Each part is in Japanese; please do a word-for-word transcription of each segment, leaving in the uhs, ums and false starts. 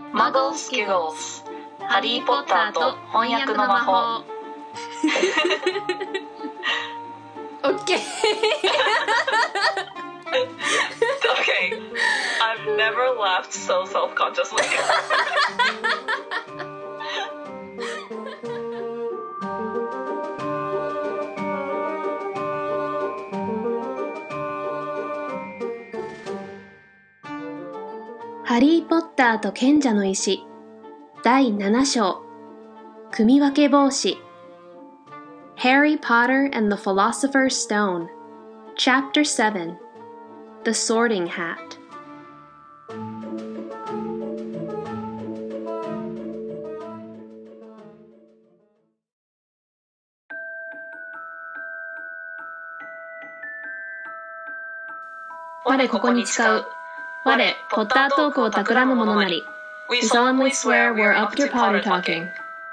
マゴスキゴスハリーポッターと翻訳の魔法オッケー Okay, I've never laughed so self-consciously. ハリー・ポッターと賢者の石だいなな章組み分け帽子 Harry Potter and the Philosopher's Stone Chapter seven The Sorting Hat 我ここに誓う我ポッタートークを企む者なり We solemnly swear we're up to Potter talking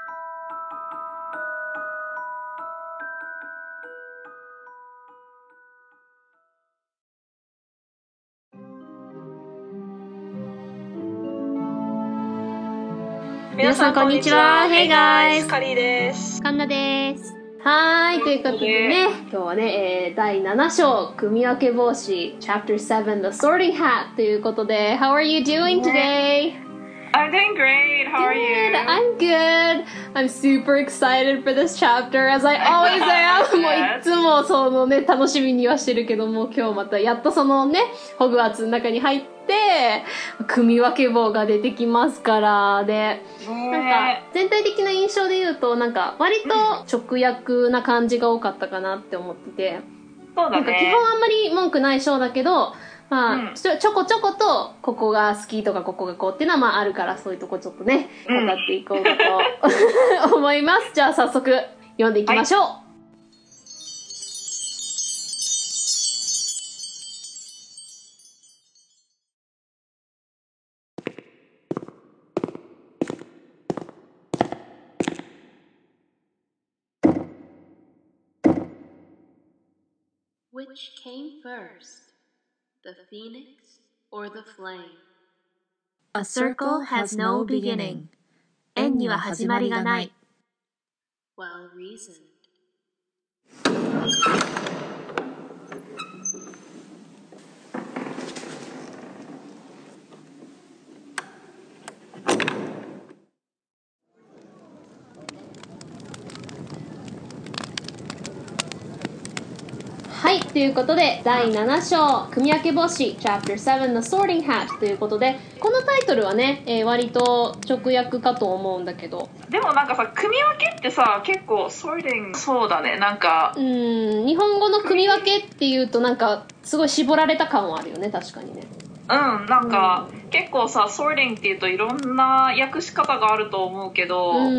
皆さんこんにちは Hey guys カリーですカンナですはい、ということでね、今日はね、えー、だいなな章組み分け帽子 Chapter seven The Sorting Hat ということで How are you doing today? I'm doing great. How are you? Good. I'm good. I'm super excited for this chapter as I always am. もういつもそのね、楽しみにはしてるけども、今日またやっとそのね、ホグワーツの中に入って、組み分け棒が出てきますから、で、なんか全体的な印象で言うと、なんか割と直訳な感じが多かったかなって思ってて、 そうだね。 なんか基本あんまり文句ない章だけど、まあ、うん、ちょこちょことここが好きとかここがこうっていうのはまああるからそういうとこちょっとね語っていこうかと、うん、思います。じゃあ早速読んでいきましょう、はいWhich came first, the phoenix or the flame? A circle has no beginning. 円には始まりがない。 Well reasoned. はい、ということでだいなな章組み分け帽子 Chapter seven The Sorting Hat ということでこのタイトルはね、えー、割と直訳かと思うんだけどでもなんかさ組み分けってさ結構 sorting そうだねなんかうーん日本語の組み分けっていうとなんかすごい絞られた感はあるよね確かにねうんなんか、うん、結構さ sorting っていうといろんな訳し方があると思うけど、うん、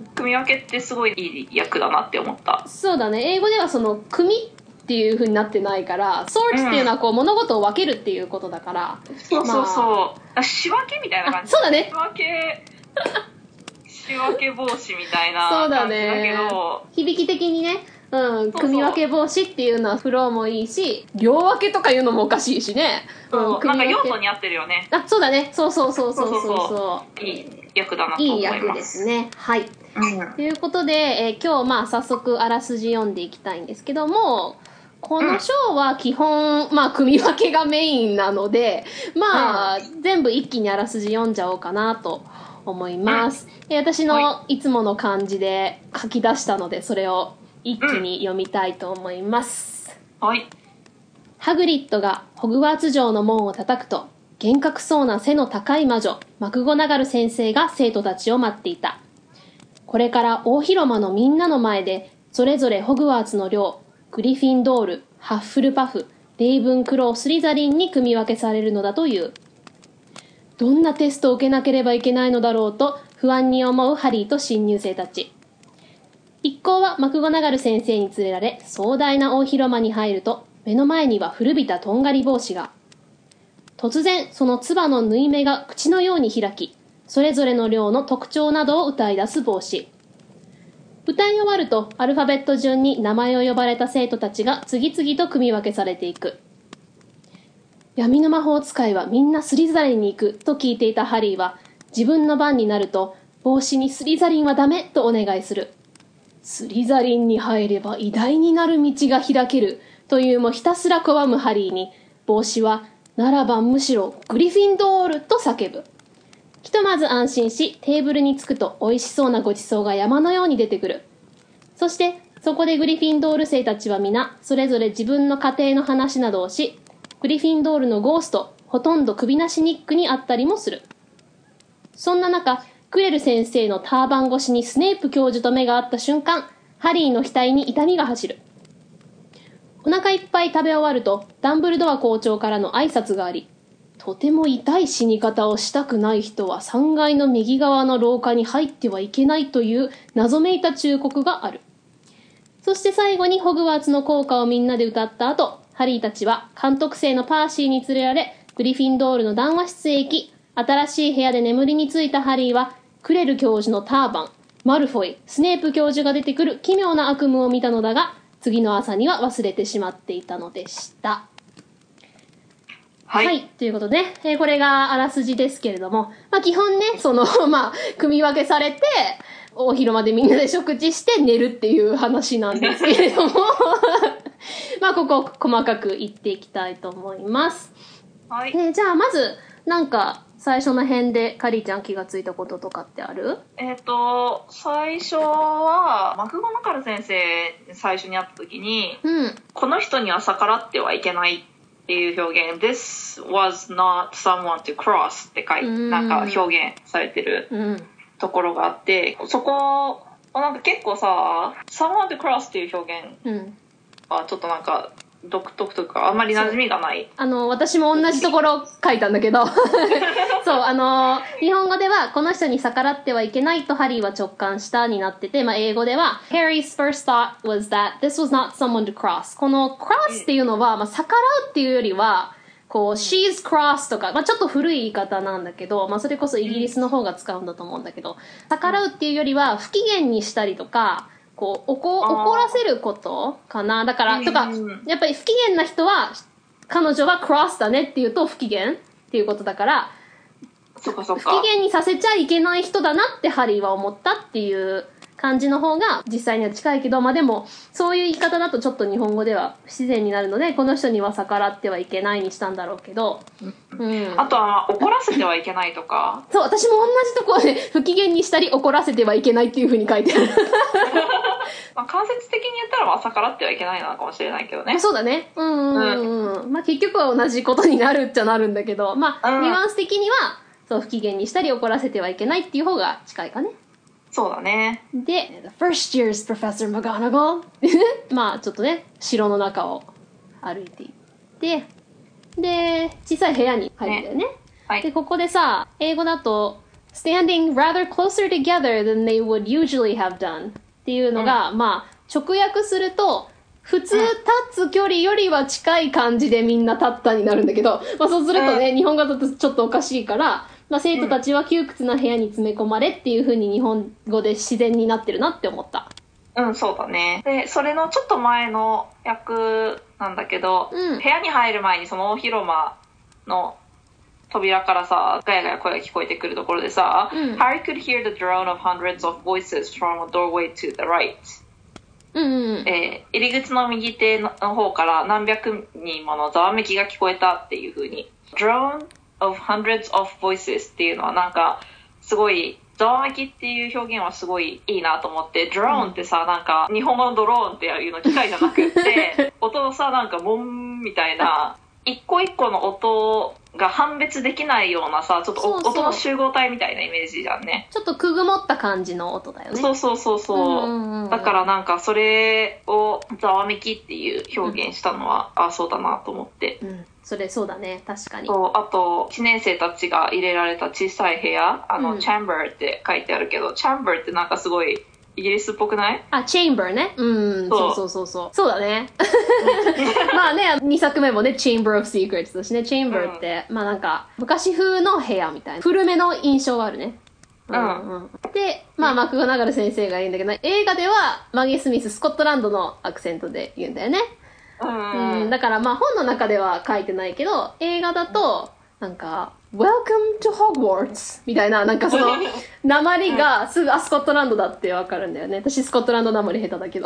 組み分けってすごいいい訳だなって思ったそうだね英語ではその組みっていう風になってないからソーツっていうのはこう、うん、物事を分けるっていうことだからそうそうそう、まあ、仕分けみたいな感じそうだね仕分け仕分け帽子みたいな感じだけどそうだね響き的にねうん、組み分け帽子っていうのはフローもいいし両分けとかいうのもおかしいしねそう、うん、なんか用途に合ってるよねあ、そうだねそうそうそうそうそうそういい役だなと思いますいい役ですねはい、うん、ということで、えー、今日まあ早速あらすじ読んでいきたいんですけどもこの章は基本、うん、まあ組み分けがメインなのでまあ、うん、全部一気にあらすじ読んじゃおうかなと思います、うん、私のいつもの感じで書き出したのでそれを一気に読みたいと思います、 うん、はいハグリッドがホグワーツ城の門を叩くと厳格そうな背の高い魔女マクゴナガル先生が生徒たちを待っていた。これから大広間のみんなの前でそれぞれホグワーツの寮グリフィンドール、ハッフルパフ、レイブンクロー、スリザリンに組み分けされるのだという。どんなテストを受けなければいけないのだろうと不安に思うハリーと新入生たち。一行はマクゴナガル先生に連れられ壮大な大広間に入ると目の前には古びたとんがり帽子が。突然その唾の縫い目が口のように開き、それぞれの寮の特徴などを歌い出す帽子。歌い終わるとアルファベット順に名前を呼ばれた生徒たちが次々と組み分けされていく。闇の魔法使いはみんなスリザリンに行くと聞いていたハリーは自分の番になると帽子にスリザリンはダメとお願いする。スリザリンに入れば偉大になる道が開けるというもひたすら拒むハリーに、帽子はならばむしろグリフィンドールと叫ぶ。ひとまず安心し、テーブルに着くと美味しそうなごちそうが山のように出てくる。そしてそこでグリフィンドール生たちは皆それぞれ自分の家庭の話などをし、グリフィンドールのゴースト、ほとんど首なしニックに会ったりもする。そんな中、クレル先生のターバン越しにスネープ教授と目が合った瞬間、ハリーの額に痛みが走る。お腹いっぱい食べ終わると、ダンブルドア校長からの挨拶があり、とても痛い死に方をしたくない人はさんがいの右側の廊下に入ってはいけないという謎めいた忠告がある。そして最後にホグワーツの校歌をみんなで歌った後、ハリーたちは監督生のパーシーに連れられ、グリフィンドールの談話室へ行き、新しい部屋で眠りについたハリーは、クレル教授のターバン、マルフォイ、スネープ教授が出てくる奇妙な悪夢を見たのだが、次の朝には忘れてしまっていたのでした。はい。はい、ということで、ね、えー、これがあらすじですけれども、まあ基本ね、その、まあ、組み分けされて、大広間でみんなで食事して寝るっていう話なんですけれども、まあここ細かく言っていきたいと思います。 はい。 えー、じゃあまず、なんか、最初の辺でカリーちゃん気がついたこととかってある？ えっ、ー、と最初はマクゴナガル先生最初に会った時に、 うん、 この人には逆らってはいけないっていう表現 This was not someone to cross って書いて、うん、なんか表現されてるところがあって、うん、そこなんか結構さ someone to cross っていう表現はちょっとなんか独特とかあんまり馴染みがない。 あの私も同じところ書いたんだけどそうあの日本語ではこの人に逆らってはいけないとハリーは直感したになってて、まあ、英語では Harry's first thought was that this was not someone to cross。 この cross っていうのは、まあ、逆らうっていうよりはこう she's cross とか、まあ、ちょっと古い言い方なんだけど、まあ、それこそイギリスの方が使うんだと思うんだけど、逆らうっていうよりは不機嫌にしたりとかこう怒怒らせることかな。だからとかやっぱり不機嫌な人は彼女は cross だねっていうと不機嫌っていうことだから、 そっかそっか不機嫌にさせちゃいけない人だなってハリーは思ったっていう感じの方が実際には近いけど、まあでもそういう言い方だとちょっと日本語では不自然になるので、この人には逆らってはいけないにしたんだろうけど、 うん、あとは怒らせてはいけないとかそう、私も同じところで不機嫌にしたり怒らせてはいけないっていう風に書いてあるまあ間接的に言ったら逆らってはいけないのかもしれないけどね。 そうだね。うんうんうん、うん、まあ結局は同じことになるっちゃなるんだけど、まあ、うん、ニュアンス的にはそう不機嫌にしたり怒らせてはいけないっていう方が近いかね。 そうだね。 で The first year's Professor McGonagall まあちょっとね城の中を歩いていってで小さい部屋に入るんだよね、はい、でここでさ英語だと standing rather closer together than they would usually have done っていうのが、うん、まあ直訳すると普通立つ距離よりは近い感じでみんな立ったになるんだけど、まあ、そうするとね、うん、日本語だとちょっとおかしいからまあ、生徒たちは窮屈な部屋に詰め込まれっていう風に日本語で自然になってるなって思った。 うん、そうだね。で、それのちょっと前の役なんだけど、うん、部屋に入る前にその大広間の扉からさ、ガヤガヤ声が聞こえてくるところでさ、うん、Harry could hear the drone of hundreds of voices from a doorway to the right。 うんうんうん、 えー、入り口の右手の方から何百人ものざわめきが聞こえたっていう風に。drone of hundreds of voices っていうのはなんかすごいざわめきっていう表現はすごいいいなと思って、ドローンってさ、なんか日本語のドローンっていうの機械じゃなくって音のさなんかボンみたいな一個一個の音が判別できないようなさちょっとそうそう音の集合体みたいなイメージじゃんね。 ちょっとくぐもった感じの音だよね。 そうそうそうそう、うんうんうん、だからなんかそれをざわめきっていう表現したのは、うん、あそうだなと思って、 うん、それそうだね確かに。 そうあといちねん生たちが入れられた小さい部屋あの、うん、チャンバーって書いてあるけどチャンバーってなんかすごいイギリスっぽくない？ あ、チェンバーね。うん、そうそうそうそう。そうだね。まあね、にさくめもね、Chamber of Secrets だしね、Chamber って、うん、まあなんか、昔風の部屋みたいな。古めの印象があるね。 うん。うん、 で、まあ、マクゴナガル先生が言うんだけど、映画では、マギー・スミス、スコットランドのアクセントで言うんだよね。 うん。 うん、だからまあ、本の中では書いてないけど、映画だと、 なんか Welcome to Hogwarts みたいな、なんかその訛りがすぐあスコットランドだってわかるんだよね。私スコットランド訛り下手だけど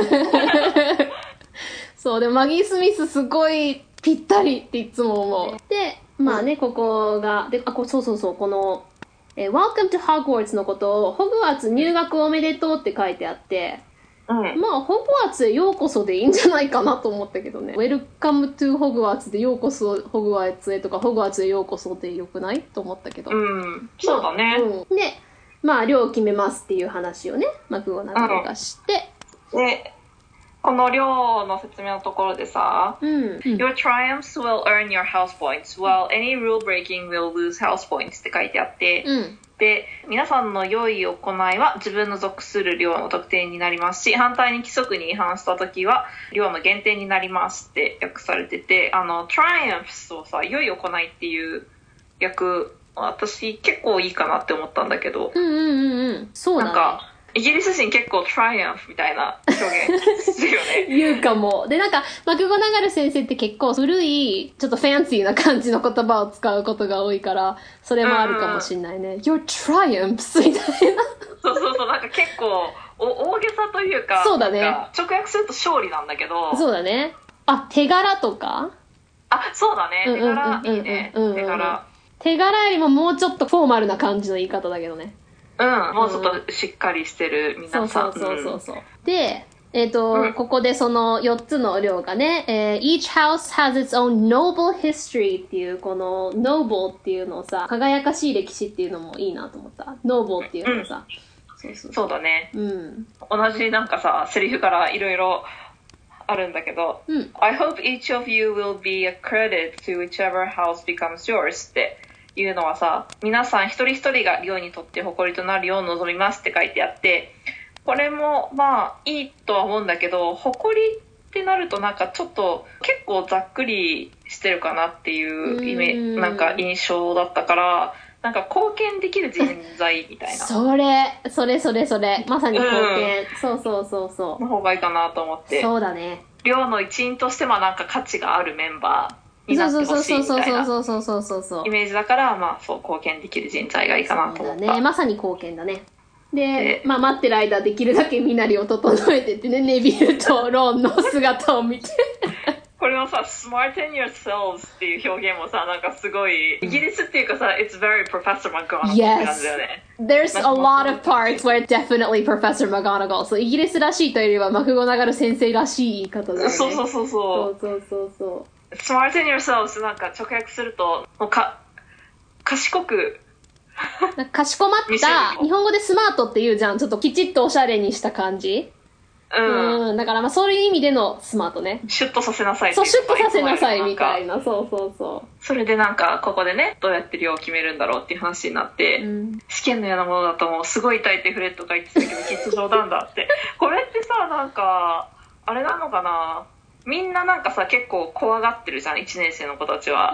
そうでもマギー・スミスすごいぴったりっていつも思う。でまあね、ここがであこそうそうそうこの、えー、Welcome to Hogwarts のことをホグワーツ入学おめでとうって書いてあって、うん、まあホグワーツへようこそでいいんじゃないかなと思ったけどね。 Welcome to Hogwarts でようこそホグワーツへとかホグワーツへようこそでよくないと思ったけど、 うん、そうだね、 うん、でまあ寮を決めますっていう話をねマクゴナガルがして、 うん、でこの寮の説明のところでさ、うん、Your triumphs will earn your house points, while any rule breaking will lose house points って書いてあって、うん、で皆さんの良い行いは自分の属する寮の得点になりますし、反対に規則に違反した時は寮の減点になりますって訳されてて、あの triumphs をさ良い行いっていう訳、私結構いいかなって思ったんだけど、 うんうんうんうん、そうだね。 なんかイギリス人結構 triumph みたいな表現するよね言うかも。でなんかマクゴナガル先生って結構古いちょっとファンシーな感じの言葉を使うことが多いからそれもあるかもしれないね、うん、Your triumphs みたいなそうそうそう、なんか結構お大げさというか、 そうだね、 直訳すると勝利なんだけど、 そうだね。あ、手柄とか、 あ、そうだね、手柄いいね、手柄手柄よりももうちょっとフォーマルな感じの言い方だけどね。 うん、もうちょっとしっかりしてる皆さん。 そうそうそうそう、うん、で、えっと、うん、ここでそのよっつの寮がね、えー、Each house has its own noble history っていうこの noble っていうのをさ、輝かしい歴史っていうのもいいなと思った。noble っていうのさ、 うん、そうそうそうだね、 うん、 同じなんかさセリフからいろいろあるんだけど、うん、I hope each of you will be a credit to whichever house becomes yours っていうのはさ、皆さん一人一人が寮にとって誇りとなるよう望みますって書いてあって、これもまあいいとは思うんだけど、誇りってなるとなんかちょっと結構ざっくりしてるかなっていうイメなんか印象だったから、なんか貢献できる人材みたいなそれそれそれそれまさに貢献、うん、そうそうそうそうの方がいいかなと思って。 そうだね、 寮の一員としてもなんか価値があるメンバーになってほしいみたいなイメージだから、まあそう貢献できる人材がいいかなと思った。 そうだね、まさに貢献だね。で、まあ待ってる間できるだけ身なりを整えてってね、ネビルとロンの姿を見てこれのさ smarten yourselves っていう表現もさ、なんかすごいイギリスっていうかさ it's very Professor McGonagall って感じだよね。 There's a lot of parts where it's definitely Professor McGonagall、 そうイギリスらしいというよりはマクゴナガル先生らしい言い方だよね。 そうそうそうそうそうそうそう、 smarten yourselves なんか直訳するともうか賢くかしこまった日本語でスマートっていうじゃん、ちょっときちっとおしゃれにした感じ、うん、うん、だからまあそういう意味でのスマートね。 シュッとさせなさい、 そうシュッとさせなさいみたいな、そうそうそう。 それでなんかここでねどうやって量を決めるんだろうっていう話になって、うん、試験のようなものだともうすごい痛いってフレッドが言ってたけどきっと冗談だってこれってさなんかあれなのかな、みんななんかさ結構怖がってるじゃんいちねん生の子たちは、うん、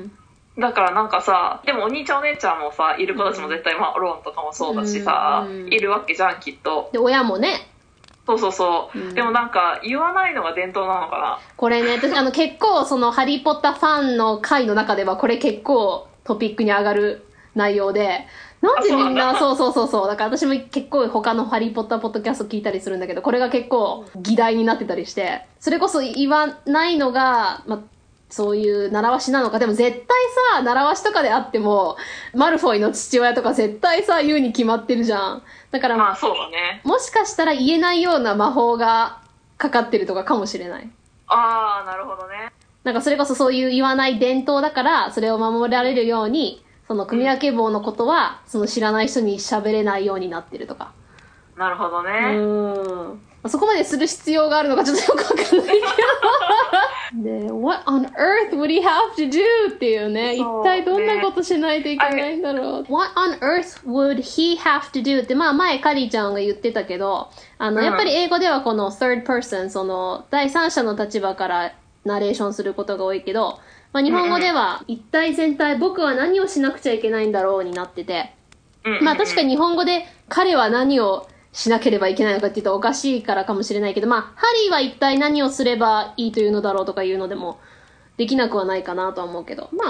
だからなんかさ、でもお兄ちゃんお姉ちゃんもさいる子たちも絶対、まあローンとかもそうだしさ、うん、いるわけじゃんきっと。 で親もね、 そうそうそう、うん、でもなんか言わないのが伝統なのかな。 これね私あの結構そのハリーポッターファンの会の中ではこれ結構トピックに上がる内容で、なんでみんなそうそうそうそうだから私も結構他のハリーポッターポッドキャスト聞いたりするんだけど、これが結構議題になってたりして、それこそ言わないのがまあそういう習わしなのか。でも絶対さ習わしとかであってもマルフォイの父親とか絶対さ言うに決まってるじゃん。だからまあそうだね、 もしかしたら言えないような魔法がかかってるとかかもしれない。 ああなるほどね。 なんかそれこそそういう言わない伝統だからそれを守られるようにその組分け棒のことは、うん、その知らない人に喋れないようになってるとか。 なるほどね。 うんそこまでする必要があるのかちょっとよくわかんないけどで What on earth would he have to do っていうね、一体どんなことしないといけないんだろう。What on earth would he have to do ってまあ前カリーちゃんが言ってたけど、あの、うん、やっぱり英語ではこの third person その第三者の立場からナレーションすることが多いけど、まあ、日本語では一体全体僕は何をしなくちゃいけないんだろうになってて、まあ確かに日本語で彼は何をしなければいけないのかって言うとおかしいからかもしれないけど、まあハリーは一体何をすればいいというのだろうとかいうのでもできなくはないかなとは思うけど、まあ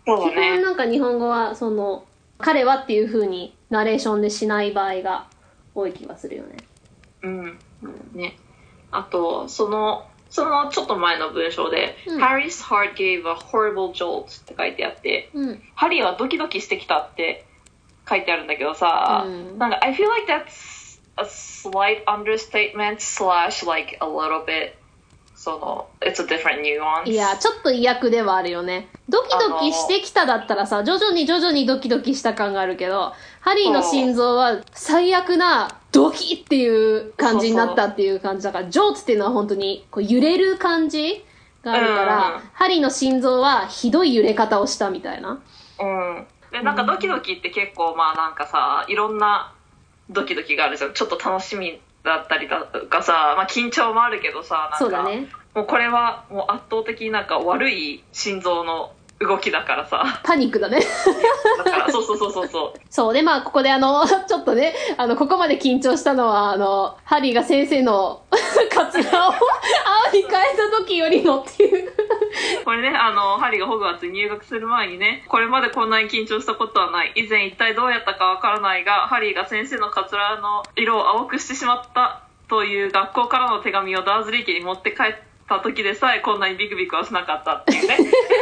そうだ基本ね。 なんか日本語はその彼はっていう風にナレーションでしない場合が多い気がするよね。 うん。ね。あと、その、そのちょっと前の文章で、 うん Harry's heart gave a horrible jolt って書いてあって、 うん。 ハリーはドキドキしてきたって書いてあるんだけどさ、 うん、 なんか I feel like that's a slight understatement slash like a little bit その it's a different nuance。 いや、ちょっと意訳ではあるよね。ドキドキしてきただったらさ、徐々に徐々にドキドキした感があるけど、ハリーの心臓は最悪なドキっていう感じになったっていう感じだから、ジョーツっていうのは本当にこう揺れる感じがあるから、 うん、 ハリーの心臓はひどい揺れ方をしたみたいな。 うん。で、なんかドキドキって結構まあなんかさ、いろんなドキドキがあるじゃん。ちょっと楽しみだったりだとかさ、まあ緊張もあるけどさ、なんかそうだね。 もうこれはもう圧倒的になんか悪い心臓の動きだからさ。 パニックだね。 だから、そうそうそうそうそう。 そうで、まあここであの、ちょっとね、あの、ここまで緊張したのは、あの、ハリーが先生のカツラを青に変えた時よりもっていう。 これね、あの、ハリーがホグワーツに入学する前にね、これまでこんなに緊張したことはない。以前一体どうやったかわからないが、ハリーが先生のカツラの色を青くしてしまったという学校からの手紙をダーズリー家に持って帰った時でさえこんなにビクビクはしなかったっていうね。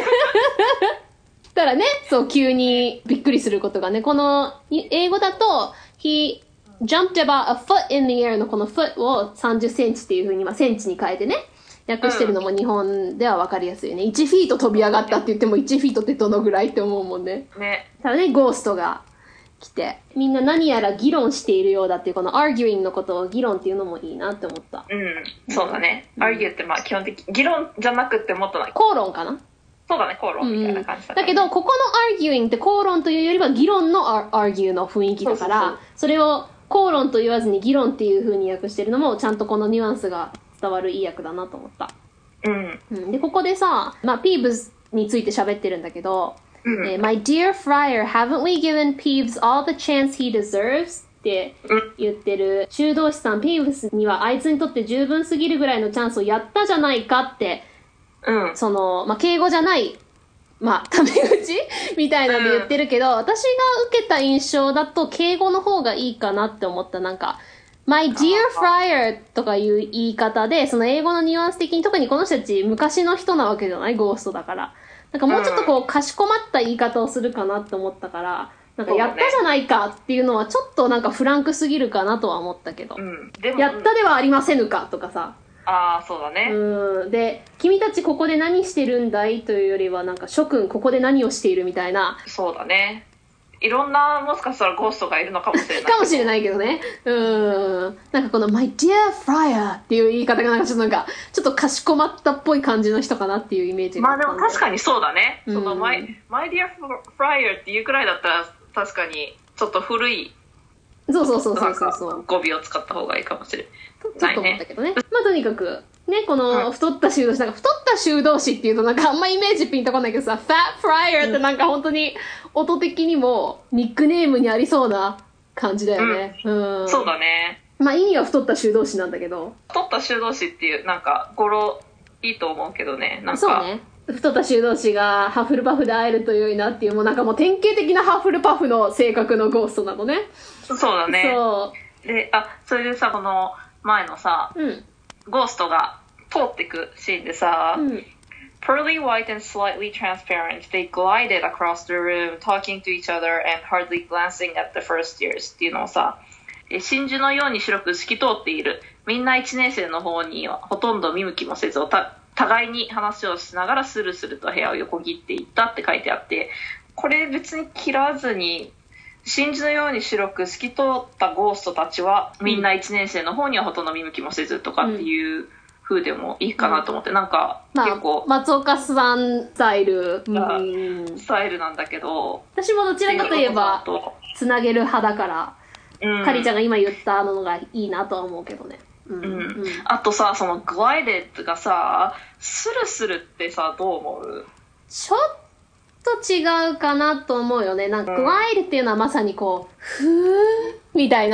たらね、そう、急にびっくりすることがね、この、英語だと、he jumped about a foot in the air のこの foot をさんじゅっセンチっていう風に、まあ、センチに変えてね、訳してるのも日本では分かりやすいよね。いちフィート飛び上がったって言ってもいちフィートってどのぐらいって思うもんね。 ね。 ただね、ゴーストが来て、みんな何やら議論しているようだっていう、この arguing のことを議論っていうのもいいなって思った。 うん、そうだね。うん、argue ってまあ基本的、議論じゃなくてもっとない。 口論かな？ そうだね、口論みたいな感じだ、ね、 うん、だけど、ここの arguing って口論というよりは議論の argue の雰囲気だから、そうそうそう、それを口論と言わずに議論っていう風に訳してるのも、ちゃんとこのニュアンスが伝わるいい訳だなと思った。 うん。 うん、で、ここでさ、まあ、Peeves について喋ってるんだけど、 うんえー My dear Friar, haven't we given Peeves all the chance he deserves? って言ってる修道士さん、Peeves にはあいつにとって十分すぎるぐらいのチャンスをやったじゃないかって、 うん、 その、まあ、敬語じゃない、まあ、タメ口みたいなんで言ってるけど、うん、私が受けた印象だと敬語の方がいいかなって思った。なんか、My dear Friar とかいう言い方で、その英語のニュアンス的に、特にこの人たち昔の人なわけじゃない？ゴーストだから。なんかもうちょっとこう、かしこまった言い方をするかなって思ったから、なんかやったじゃないかっていうのはちょっとなんかフランクすぎるかなとは思ったけど。 うん、でもやったではありませぬかとかさ。 ああ、そうだね。 うん。で、君たちここで何してるんだいというよりは、なんか諸君ここで何をしているみたいな。 そうだね。いろんな、もしかしたらゴーストがいるのかもしれない。 かもしれないけどね。うん。なんかこの My dear Friar っていう言い方がなんかちょっとなんか、ちょっとかしこまったっぽい感じの人かなっていうイメージがあったんで。まあでも確かにそうだね。 うん、 その My, My dear Friar っていうくらいだったら、確かにちょっと古い。 そうそうそうそうそうそう。 語尾を使った方がいいかもしれない。ちょっと思ったけどね。まあとにかく、ね、この太った修道士、なんか太った修道士っていうとなんかあんまイメージピンとこないけどさ、Fat Friar ってなんか本当に音的にもニックネームにありそうな感じだよね。うん。うん、 そうだね。 まあ意味は太った修道士なんだけど。 太った修道士っていう、なんか語呂いいと思うけどね。なんか。 そうね。太った修道士がハッフルパフで会えると良いなっていう、もうなんかもう典型的なハッフルパフの性格のゴーストなのね。 そうだね。 そう。 で、あ、それでさ、この前のさ、 うん、 ゴーストが通ってくシーンでさ、 うん、 Pearly white and slightly transparent, they glided across the room, talking to each other and hardly glancing at the first years っていうのをさ、真珠のように白く透き通っている。みんないちねん生の方にはほとんど見向きもせず、た互いに話をしながらスルスルと部屋を横切っていったって書いてあって、これ別に切らずに、真珠のように白く透き通ったゴーストたちは、みんないちねん生の方にはほとんど見向きもせずとかっていう、うん風でもいいかなと思って、なんか結構、 まあ、松岡さんスタイル、 うん、スタイルなんだけど、 私もどちらかといえばつなげる派だから、うん、カリちゃんが今言ったのがいいなとは思うけどね、うんうんうん、あとさ、そのグライデッドがさ、スルスルってさ、どう思う？ ちょっと違うかなと思うよね。なんかグライドっていうのはまさにこう、ふーみたいな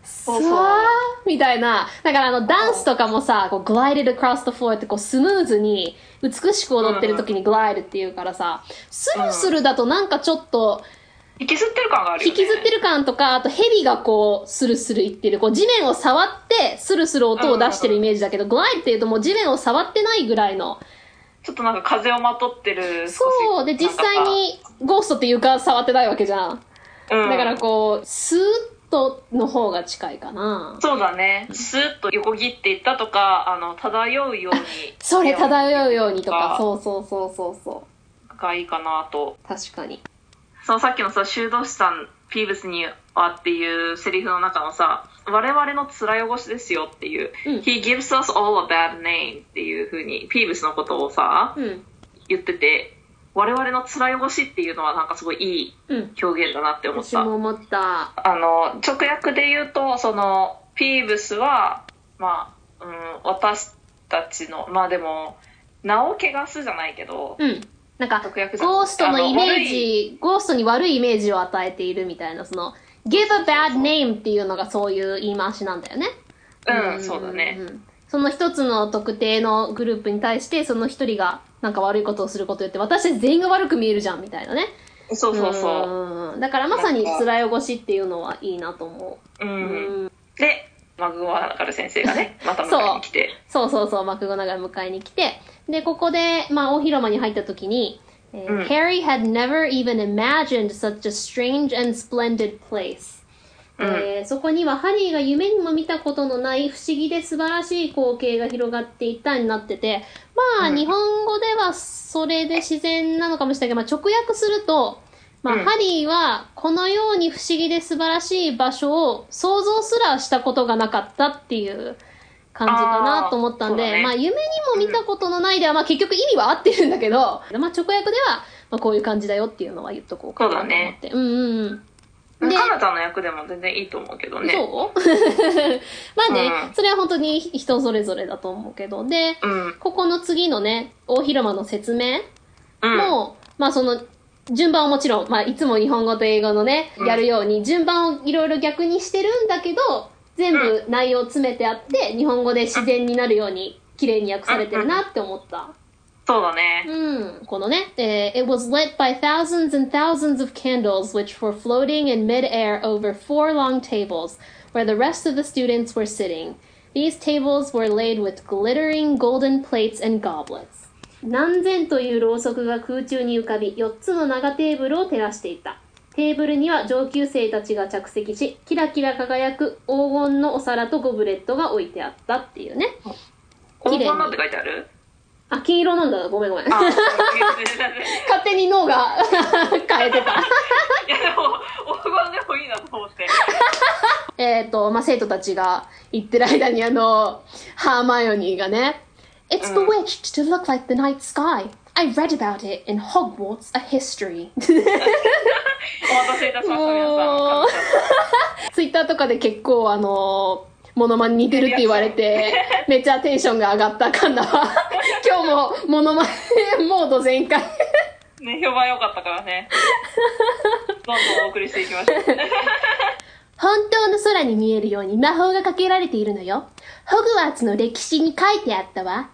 そうそうわーみたいな。だからあのダンスとかもさ、こう glided across the floor ってこうスムーズに美しく踊ってる時に glide っていうからさ、スルスルだとなんかちょっと、 引きずってる感があるよね。 引きずってる感とか、あと蛇がこうスルスルいってる、こう地面を触ってスルスル音を出してるイメージだけど、glide っていうともう地面を触ってないぐらいの。 ちょっとなんか風をまとってる。 そうで実際にゴーストって床触ってないわけじゃん。 うん、 だからこうスーッとの方が近いかな。 そうだね。スーッと横切っていったとか、あの漂うようにそれ漂うようにとか、そうそうそうそうそうがいいかなと。 確かに。 そのさっきのさ、修道士さんピーブスにはっていうセリフの中のさ、我々の面汚しですよっていう、うん、He gives us all a bad name っていう風にピーブスのことをさ、うん、言ってて、我々の面汚しっていうのはなんかすごいいい表現だなって思った。 うん、私も思った。 あの直訳で言うと、そのピーブスはまあ、うん、私たちのまあでも名を汚すじゃないけど。 うんなんかゴーストのイメージゴーストに悪いイメージを与えているみたいな、その give a bad name っていうのがそういう言い回しなんだよね。 うん、うん、そうだね。 その一つの特定のグループに対してその一人がなんか悪いことをすることを言って私たち全員が悪く見えるじゃんみたいなね。 そうそうそう。 うんだからまさに面汚しっていうのはいいなと思う。 うん。うん、でマクゴナガル先生がねまた迎えに来てそうそうそうそうマクゴナガル迎えに来てでここで、まあ、大広間に入った時に、えーうん、Harry had never even imagined such a strange and splendid place、うんえー、そこにはハリーが夢にも見たことのない不思議で素晴らしい光景が広がっていたになっててまあ、うん、日本語ではそれで自然なのかもしれないけど、まあ、直訳するとまあ、うん、ハリーはこのように不思議で素晴らしい場所を想像すらしたことがなかったっていう感じかなと思ったんで、ね、まあ夢にも見たことのないでは、まあ結局意味は合ってるんだけど、まあ直訳では、まあこういう感じだよっていうのは言っとこうかなと思って。そうだね。うんうんうん。で、カナタの役でも全然いいと思うけどね。 そうまあね、うん、それは本当に人それぞれだと思うけど。で、うん、ここの次のね、大広間の説明も、うん、まあその、順番はもちろん、まあいつも日本語と英語のね、うん、やるように順番をいろいろ逆にしてるんだけど、全部内容詰めてあって、うん、日本語で自然になるように綺麗に訳されてるなって思った。 そうだね。 うん。このね、えー、It was lit by thousands and thousands of candles which were floating in mid-air over four long tables where the rest of the students were sitting. These tables were laid with glittering golden plates and goblets. 何千というろうそくが空中に浮かび、よっつの長テーブルを照らしていた。テーブルには上級生たちが着席し、キラキラ輝く黄金のお皿とゴブレットが置いてあったっていうね。 黄金のって書いてある？ あ、金色なんだ。ごめんごめん。勝手に脳が変えてた。いやでも、黄金でもいいなと思って。 えっと、まあ、生徒たちが言ってる間にあの、ハーマイオニーがね、It's bewitched to look like the night sky. I read about it in Hogwarts, a history. お待たせいたしました、皆さん。 ツイッターとかで結構あの、モノマネ似てるって言われて、めっちゃテンションが上がったカンナは、今日もモノマネモード全開。 ね、評判良かったからね。どんどんお送りしていきましょう。 本当の空に見えるように魔法がかけられているのよ。ホグワーツの歴史に書いてあったわ。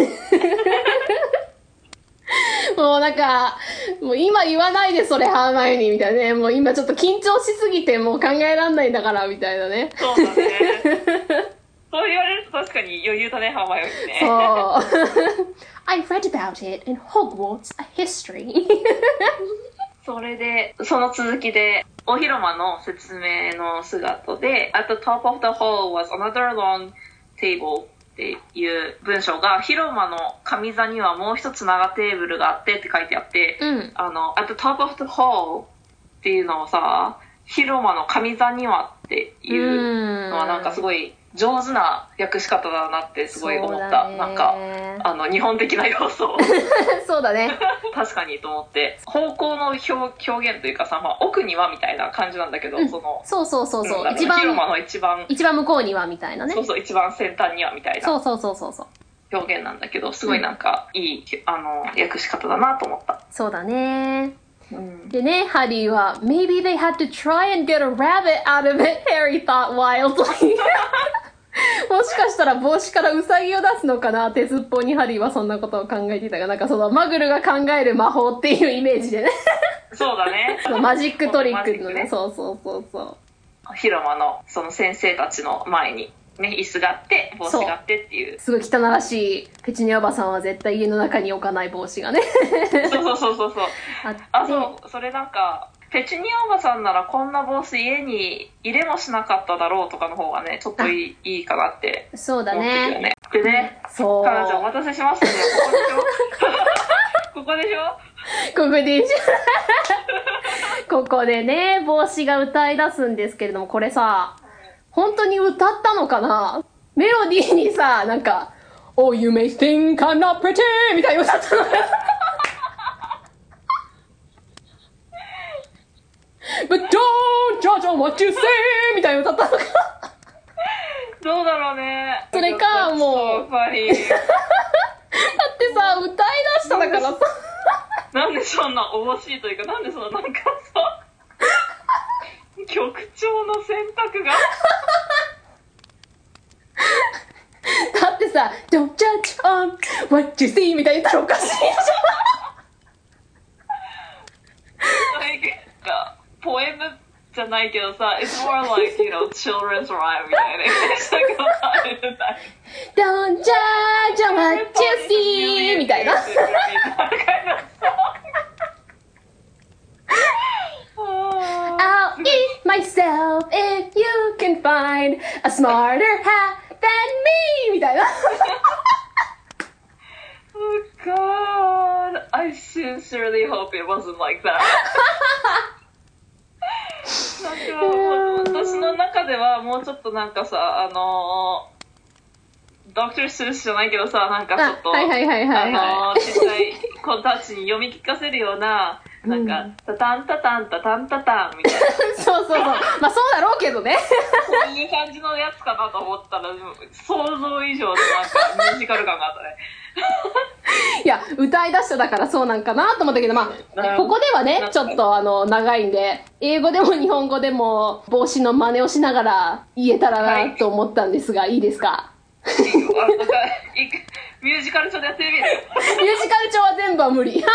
もうなんか、もう今言わないでそれハーマイオニーみたいなね。もう今ちょっと緊張しすぎてもう考えらんないんだからみたいなね。 そうだね。そう言われると確かに余裕だね、ハーマイオニーね。 そう。I read about it in Hogwarts, a history. それで、その続きで、大広間の説明の姿で、At the top of the hall was another long table.っていう文章が広間の上座にはもう一つ長テーブルがあってって書いてあって、うん、あの At the top of the hall っていうのをさ広間の上座にはっていうのはなんかすごい上手な訳し方だなってすごい思った、なんかあの日本的な要素をそうだね確かにと思って方向の表、表現というかさ、まあ、奥にはみたいな感じなんだけど、うん、そのそうそうそうそう、 うん、一番広間の一番一番向こうにはみたいなね、 そうそう一番先端にはみたいなそうそうそうそうそう表現なんだけどすごいなんかいい、うん、あの訳し方だなと思った。 そうだね、 うんでね、ハリーは Maybe they had to try and get a rabbit out of it, Harry thought wildly もしかしたら帽子からウサギを出すのかな、鉄っぽにハリーはそんなことを考えていたが、なんかそのマグルが考える魔法っていうイメージでねそうだね。 マジックトリックのね、 ね、 そうそうそうそう。 広間のその先生たちの前にね、椅子があって帽子があってっていう。 すごい汚らしいペチュニアおばさんは絶対家の中に置かない帽子がねそうそうそうそうそう。あ、そう、それなんかペチュニアおばさんならこんな帽子家に入れもしなかっただろうとかの方がね、ちょっといい、いいかなってそうだ思ってるよね。 ね。でね、 そう。 彼女お待たせしましたね。ここでしょここでしょここでしょここでね、帽子が歌い出すんですけれども、これさ、本当に歌ったのかな？メロディーにさ、なんか、Oh, you may think I'm not pretty! みたいに歌ったのかなBut don't judge on what you say! みたいに歌ったのかどうだろうね。 それか、もう。 やっぱり。 だってさ、歌い出しただからさ。 なんでそんな惜しいというか、なんでそのなんかさ、曲調の選択がだってさ、Don't judge on what you see! みたいに言ったらおかしいじゃん。 like, ポエムじゃないけどさ、It's more like, you know, children's rhyme みたいな。 Don't judge on what you see! みたいな。I'll eat myself if you can find a smarter hat than me! みたいな。 Oh God, I sincerely hope it wasn't like that. なんか私の中ではもうちょっとなんかさ、あのー、ドクター・スースじゃないけどさ、なんかちょっと、 はいはいはいはい、はい、 あのー、小さい子たちに読み聞かせるような、なんか、うん、タタンタタンタタンタタンみたいな。 そうそうそう。まあそうだろうけどね。 そういう感じのやつかなと思ったら、想像以上のなんかミュージカル感があったね。 いや、歌い出しただからそうなんかなと思ったけど、まあ、ここではね、ちょっとあの、長いんで、英語でも日本語でも帽子の真似をしながら言えたらなと思ったんですが、はい、いいですか？ いいよ。あ、なんか、ミュージカル調でやってみる。 ミュージカル調は全部は無理。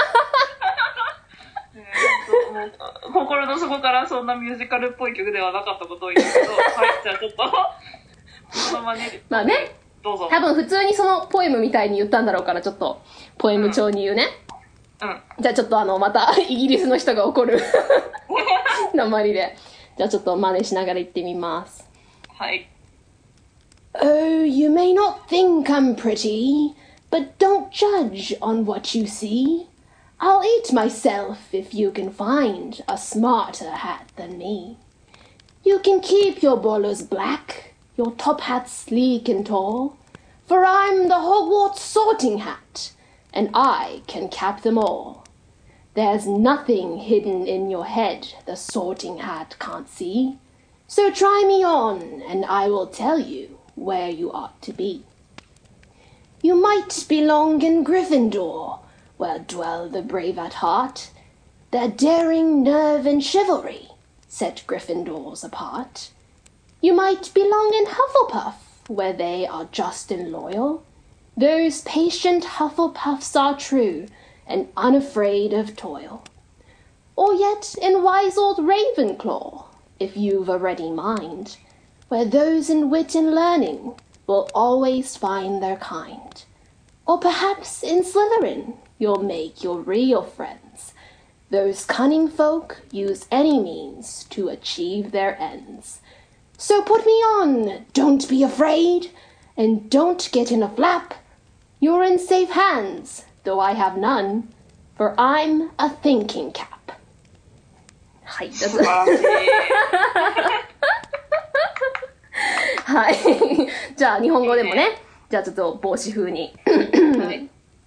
心の底からそんなミュージカルっぽい曲ではなかったことを言うけど、はい、じゃあちょっと、そのまね、 まあね、 どうぞ。 多分普通にそのポエムみたいに言ったんだろうから、ちょっと、ポエム調に言うね。 うん。うん、 じゃあちょっとあの、また、イギリスの人が怒る、鉛で。じゃあちょっと真似しながら言ってみます。 はい。 Oh, you may not think I'm pretty, but don't judge on what you see.I'll eat myself if you can find a smarter hat than me. You can keep your bowlers black, your top hats sleek and tall, for I'm the Hogwarts sorting hat, and I can cap them all. There's nothing hidden in your head the sorting hat can't see, so try me on and I will tell you where you ought to be. You might belong in Gryffindor,where dwell the brave at heart. Their daring nerve and chivalry set Gryffindors apart. You might belong in Hufflepuff, where they are just and loyal. Those patient Hufflepuffs are true and unafraid of toil. Or yet in wise old Ravenclaw, if you've a ready mind, where those in wit and learning will always find their kind. Or perhaps in Slytherin,You'll make your real friends. Those cunning folk use any means to achieve their ends. So put me on, don't be afraid, and don't get in a flap. You're in safe hands, though I have none, for I'm a thinking cap. はい、どうぞ。はい。じゃあ日本語でもね、じゃあちょっと帽子風に。はい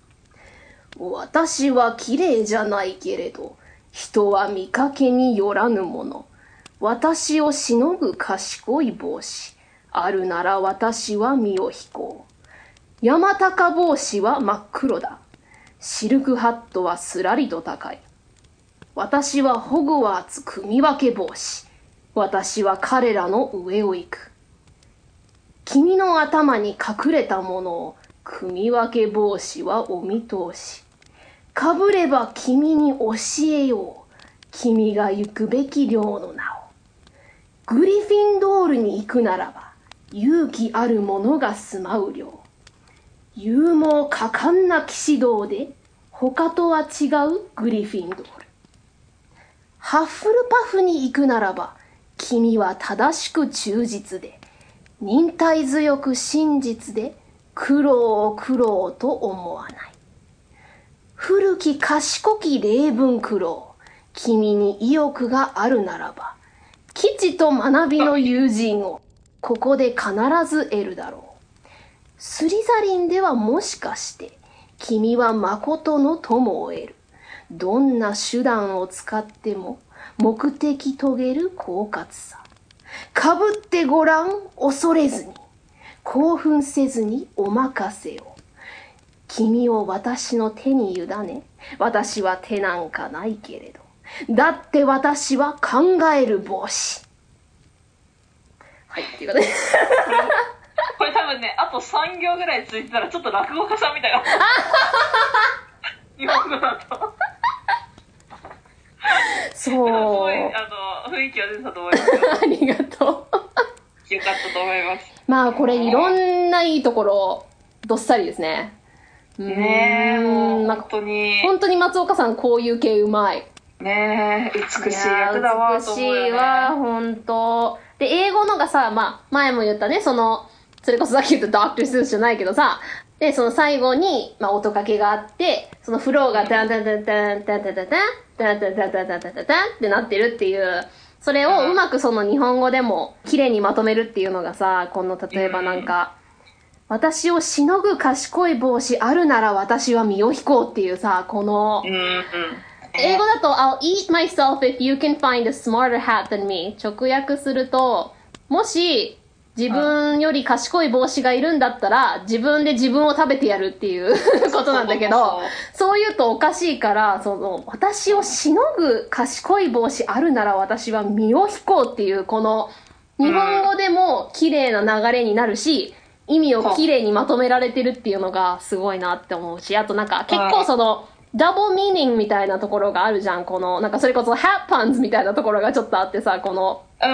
私は綺麗じゃないけれど、人は見かけによらぬもの。私をしのぐ賢い帽子。あるなら私は身を引こう。山高帽子は真っ黒だ。シルクハットはすらりと高い。 私はホグワーツ組分け帽子。私は彼らの上を行く。君の頭に隠れたものを組分け帽子はお見通し。かぶれば君に教えよう。君が行くべき寮の名を。グリフィンドールに行くならば、勇気ある者が住まう寮。勇猛果敢な騎士道で、他とは違うグリフィンドール。ハッフルパフに行くならば、君は正しく忠実で、忍耐強く真実で、苦労を苦労と思わない。古き賢き例文苦労、君に意欲があるならば、基地と学びの友人を、ここで必ず得るだろう。スリザリンではもしかして、君は誠の友を得る。どんな手段を使っても、目的遂げる狡猾さ。かぶってごらん、恐れずに。興奮せずにお任せを。君を私の手に委ね、私は手なんかないけれど。だって私は考える帽子。はい、っていうことで。 これ多分ね、あとさん行ぐらいついてたらちょっと落語家さんみたいな。日本語だと。 そう。 すごい、あの、雰囲気は出てたと思いますよ。 ありがとう。 よかったと思います。 まあこれいろんないいところ、どっさりですね。 ねえ、もうまあ本当に。 本当に松岡さんこういう系うまい。 ねえ、美しい役だわと思うよね。 美しいわ、本当。で、英語のがさ、まあ、前も言ったね、その、それこそさっき言った ドクター スーツじゃないけどさ、で、その最後に、まあ、音掛けがあって、そのフローがダンダンダンダンダンダンダンダンダンダンダンダンダンダンダンダンってなってるっていう、それをうまくその日本語でも綺麗にまとめるっていうのがさ、この例えばなんか、私をしのぐ賢い帽子あるなら私は身を引こうっていうさ、この、 うんうん。 英語だと I'll eat myself if you can find a smarter hat than me 直訳するともし自分より賢い帽子がいるんだったら自分で自分を食べてやるっていうことなんだけどそう言うとおかしいからその私をしのぐ賢い帽子あるなら私は身を引こうっていうこの日本語でも綺麗な流れになるし意味を綺麗にまとめられてるっていうのがすごいなって思うしあとなんか結構そのダブルミーニングみたいなところがあるじゃん。この、なんかそれこそハッパンズみたいなところがちょっとあってさ、この、 うん。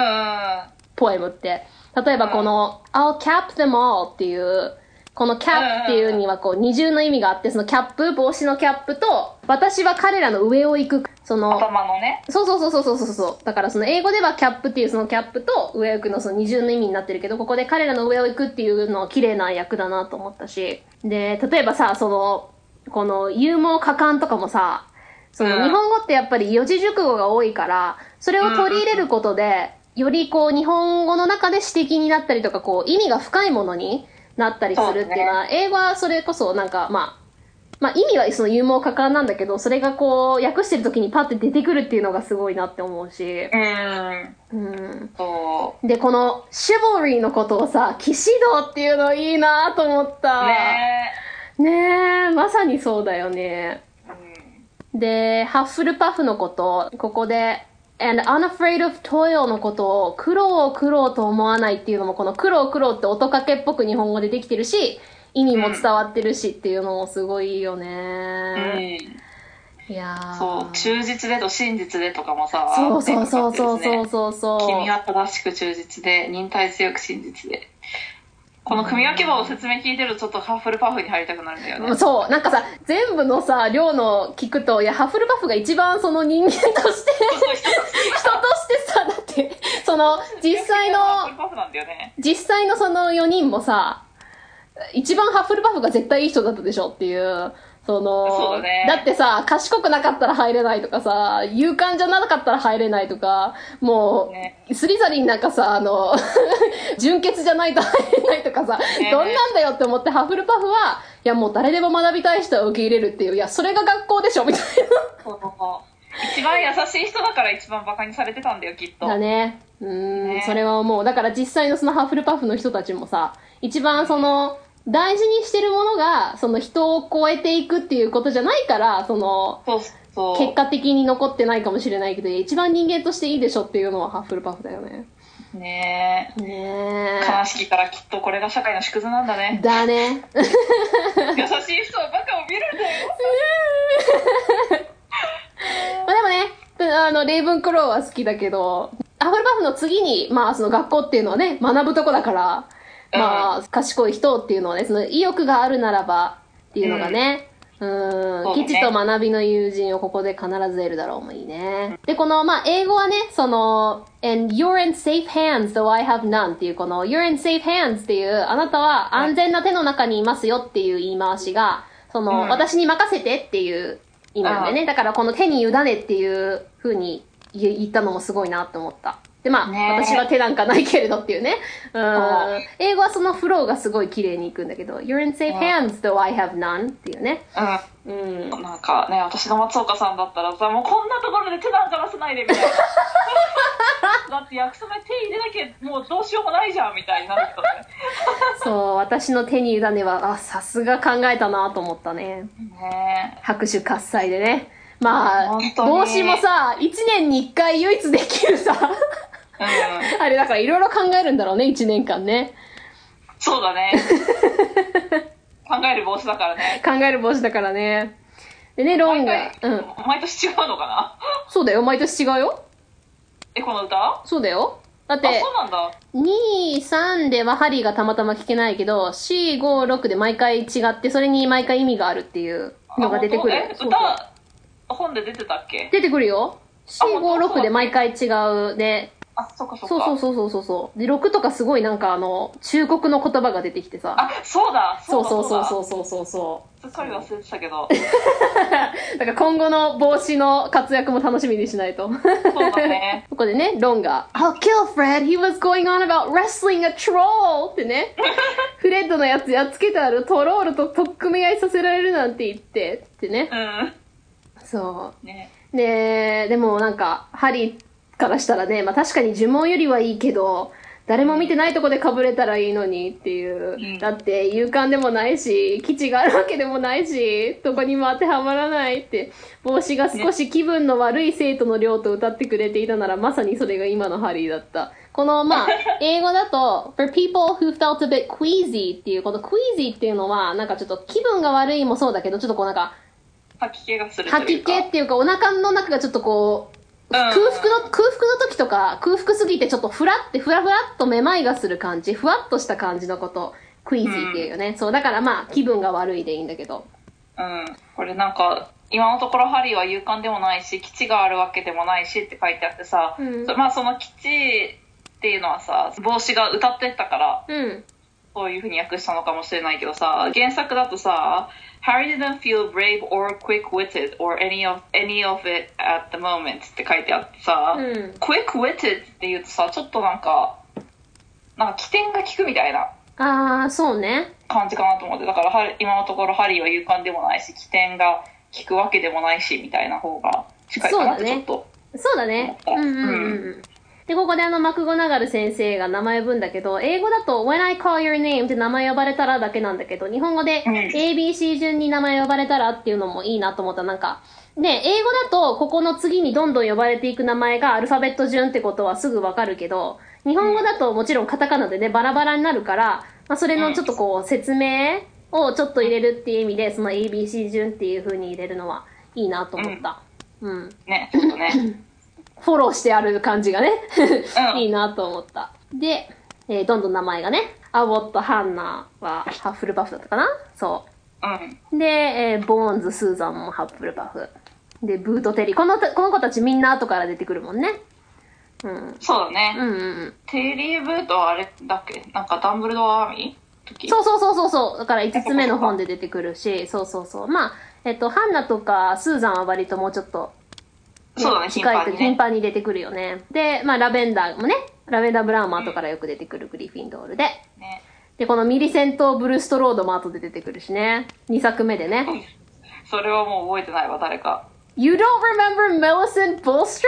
ポエムって。例えばこの、I'll cap them all っていう、この cap っていうにはこう二重の意味があって、そのキャップ、帽子のキャップと、私は彼らの上を行く、その、 頭のね。 そうそうそうそうそうそう。だからその英語ではキャップっていうそのキャップと上を行くのその二重の意味になってるけど、ここで彼らの上を行くっていうのは綺麗な役だなと思ったし。で、例えばさ、その、この勇猛果敢とかもさ、その日本語ってやっぱり四字熟語が多いから、それを取り入れることで、よりこう日本語の中で詩的になったりとか、こう意味が深いものになったりするっていうのは、英語はそれこそなんかまあ、まあ意味はその勇猛果敢なんだけど、それがこう訳してる時にパッて出てくるっていうのがすごいなって思うし。 うん。 うん。 そう。 で、このシボリーのことをさ、騎士道っていうのいいなと思った。 ねえ。ねえ、まさにそうだよね。うん、で、ハッフルパフのこと、ここで、and unafraid of toil のことを苦労を苦労と思わないっていうのもこの苦労苦労って音かけっぽく日本語でできてるし意味も伝わってるしっていうのもすごいいいよね、うん、いやーそう忠実でと真実でとかもさそうそうそうそうそうそうそう君は正しく忠実で忍耐強く真実でこの組み分け場を説明聞いてるとちょっとハッフルパフに入りたくなるんだよね。 そうなんかさ全部のさ量の聞くといやハッフルパフが一番その人間として人としてさだってその実際の実際のそのよにんもさ一番ハッフルパフが絶対いい人だったでしょっていうそのそうだね、 だってさ賢くなかったら入れないとかさ勇敢じゃなかったら入れないとかもう、ね、スリザリンなんかさあの純潔じゃないと入れないとかさ、ね、どんなんだよって思ってハッフルパフはいやもう誰でも学びたい人は受け入れるっていういやそれが学校でしょみたいなそう一番優しい人だから一番バカにされてたんだよきっとだねうーん、 ね、 それは思うだから実際のそのハッフルパフの人たちもさ一番その大事にしてるものがその人を超えていくっていうことじゃないからそのそう結果的に残ってないかもしれないけど、一番人間としていいでしょっていうのはハッフルパフだよね。 ねえ。 ねえ。 悲しきからきっとこれが社会の縮図なんだね。 だね。 優しい人はバカを見るんだよ。 まあでもね、あの、レイブンクローは好きだけど、ハッフルパフの次に、まあその学校っていうのはね、学ぶとこだから、まあ、賢い人っていうのはね、その意欲があるならばっていうのがね、うん、 そうね基地と学びの友人をここで必ず得るだろうもいいね。で、この、まあ、英語はね、その、and you're in safe hands though I have none っていうこの you're in safe hands っていう、あなたは安全な手の中にいますよっていう言い回しが、その、 うん私に任せてっていう意味なんでね。だからこの手に委ねっていう風に言ったのもすごいなって思った。で、まあ、 ね、 私は手なんかないけれどっていうね。うん。 う英語はそのフローがすごい綺麗にいくんだけど、You're in safe hands though I have none っていうね。 うん。 うん。 なんかね、私の松岡さんだったらさ、もうこんなところで手なんか出さないでみたいな。だって約束で手入れなきゃもうどうしようもないじゃんみたいになるけどね。 そう、私の手に委ねは、あ、さすが考えたなと思ったね。 ね拍手喝采でね。まあ本、当に帽子もさ、いちねんにいっかい唯一できるさ、 うん。 あれだからいろいろ考えるんだろうね、いちねんかんね。 そうだね。考える帽子だからね。 考える帽子だからね。でね、ロンが、 毎回うん。 毎年違うのかな。 そうだよ、毎年違うよ。 え、この歌？ そうだよ。だっあ、 てそ、うなんだ。 に、さんではハリーがたまたま聞けないけど、よん、ご、ろくで毎回違って、それに毎回意味があるっていうのが出てくる。 あ本当え、 そうそう歌、本で出てたっけ？ 出てくるよ。よん、ご、ろくで毎回違う。で、 あ、そっかそっか。 そうそうそうそうそう。で、ろくとかすごいなんかあの、忠告の言葉が出てきてさ。 あ、そうだ。 そうだそうそうそううそうそうそだ。すっかり忘れてたけど。 う。だから今後の帽子の活躍も楽しみにしないと。 そうだね。 ここでね、ロンが、I'll kill Fred, he was going on about wrestling a troll! ってね、フレッドのやつやっつけてあるトロールと取っ組み合いさせられるなんて言って、ってね。 うん。 そね。 う。で、でもなんか、ハリーからしたらね、まあ確かに呪文よりはいいけど、誰も見てないとこで被れたらいいのにっていう。 うん、 だって勇敢でもないし、基地があるわけでもないし、どこにも当てはまらないって、帽子が少し気分の悪い生徒の寮と歌ってくれていたなら、まさにそれが今のハリーだった。この、まあ、英語だと、for people who felt a bit queasy っていう、この queasy っていうのは、なんかちょっと気分が悪いもそうだけど、ちょっとこうなんか、 吐き気がするというか。 吐き気っていうか、お腹の中がちょっとこう、空腹の、空腹の時とか、空腹すぎてちょっとふらって、ふらふらっとめまいがする感じ、ふわっとした感じのこと、クイージーっていうよね。うん、そう、だからまあ、気分が悪いでいいんだけど。 うん。これなんか、今のところハリーは勇敢でもないし、基地があるわけでもないしって書いてあってさ、うん、まあその基地っていうのはさ、帽子が歌ってたから、 うん、 そういう風に訳したのかもしれないけどさ、原作だとさ、Harry didn't feel brave or quick-witted or any of, any of it at the moment って書いてあってさ、うん、quick-witted って言うとさ、ちょっとなんか、なんか起点が効くみたいな。 あー、そうね。 感じかなと思って。だから今のところハリーは勇敢でもないし、起点が効くわけでもないし、みたいな方が近いかなってちょっと。 そうだね。そうだね。うんうんうん。うんで、ここであの、マクゴナガル先生が名前呼ぶんだけど、英語だと When I call your name って名前呼ばれたらだけなんだけど、日本語で エービーシー 順に名前呼ばれたらっていうのもいいなと思った。なんか、ね、英語だとここの次にどんどん呼ばれていく名前がアルファベット順ってことはすぐわかるけど、日本語だともちろんカタカナでね、バラバラになるから、まあ、それのちょっとこう、説明をちょっと入れるっていう意味で、その エービーシー 順っていう風に入れるのはいいなと思った。うん。うん、 ね、ちょっとね。 フォローしてある感じがね、うん、いいなと思った。で、えー、どんどん名前がね、アボット、ハンナはハッフルパフだったかなそう。うん。で、えー、ボーンズ、スーザンもハッフルパフ。で、ブート、テリー。この、この子たちみんな後から出てくるもんね。 うん。そうだね。うんうんうん。テリー・ブートはあれだっけなんかダンブルドアーミー時そうそうそうそうそう。だからいつつめの本で出てくるし、そうそうそう。まあ、えっと、ハンナとかスーザンは割ともうちょっと、 ね、そうだね、 頻繁にね。頻繁に出てくるよね。で、まあ、ラベンダーもね、ラベンダー・ブラウンも後からよく出てくる、グリフィンドールで。ね、で、このミリセント・ブルーストロードも後で出てくるしね。にさくめでね。 それはもう覚えてないわ、誰か。 You don't remember Millicent Bulstrode?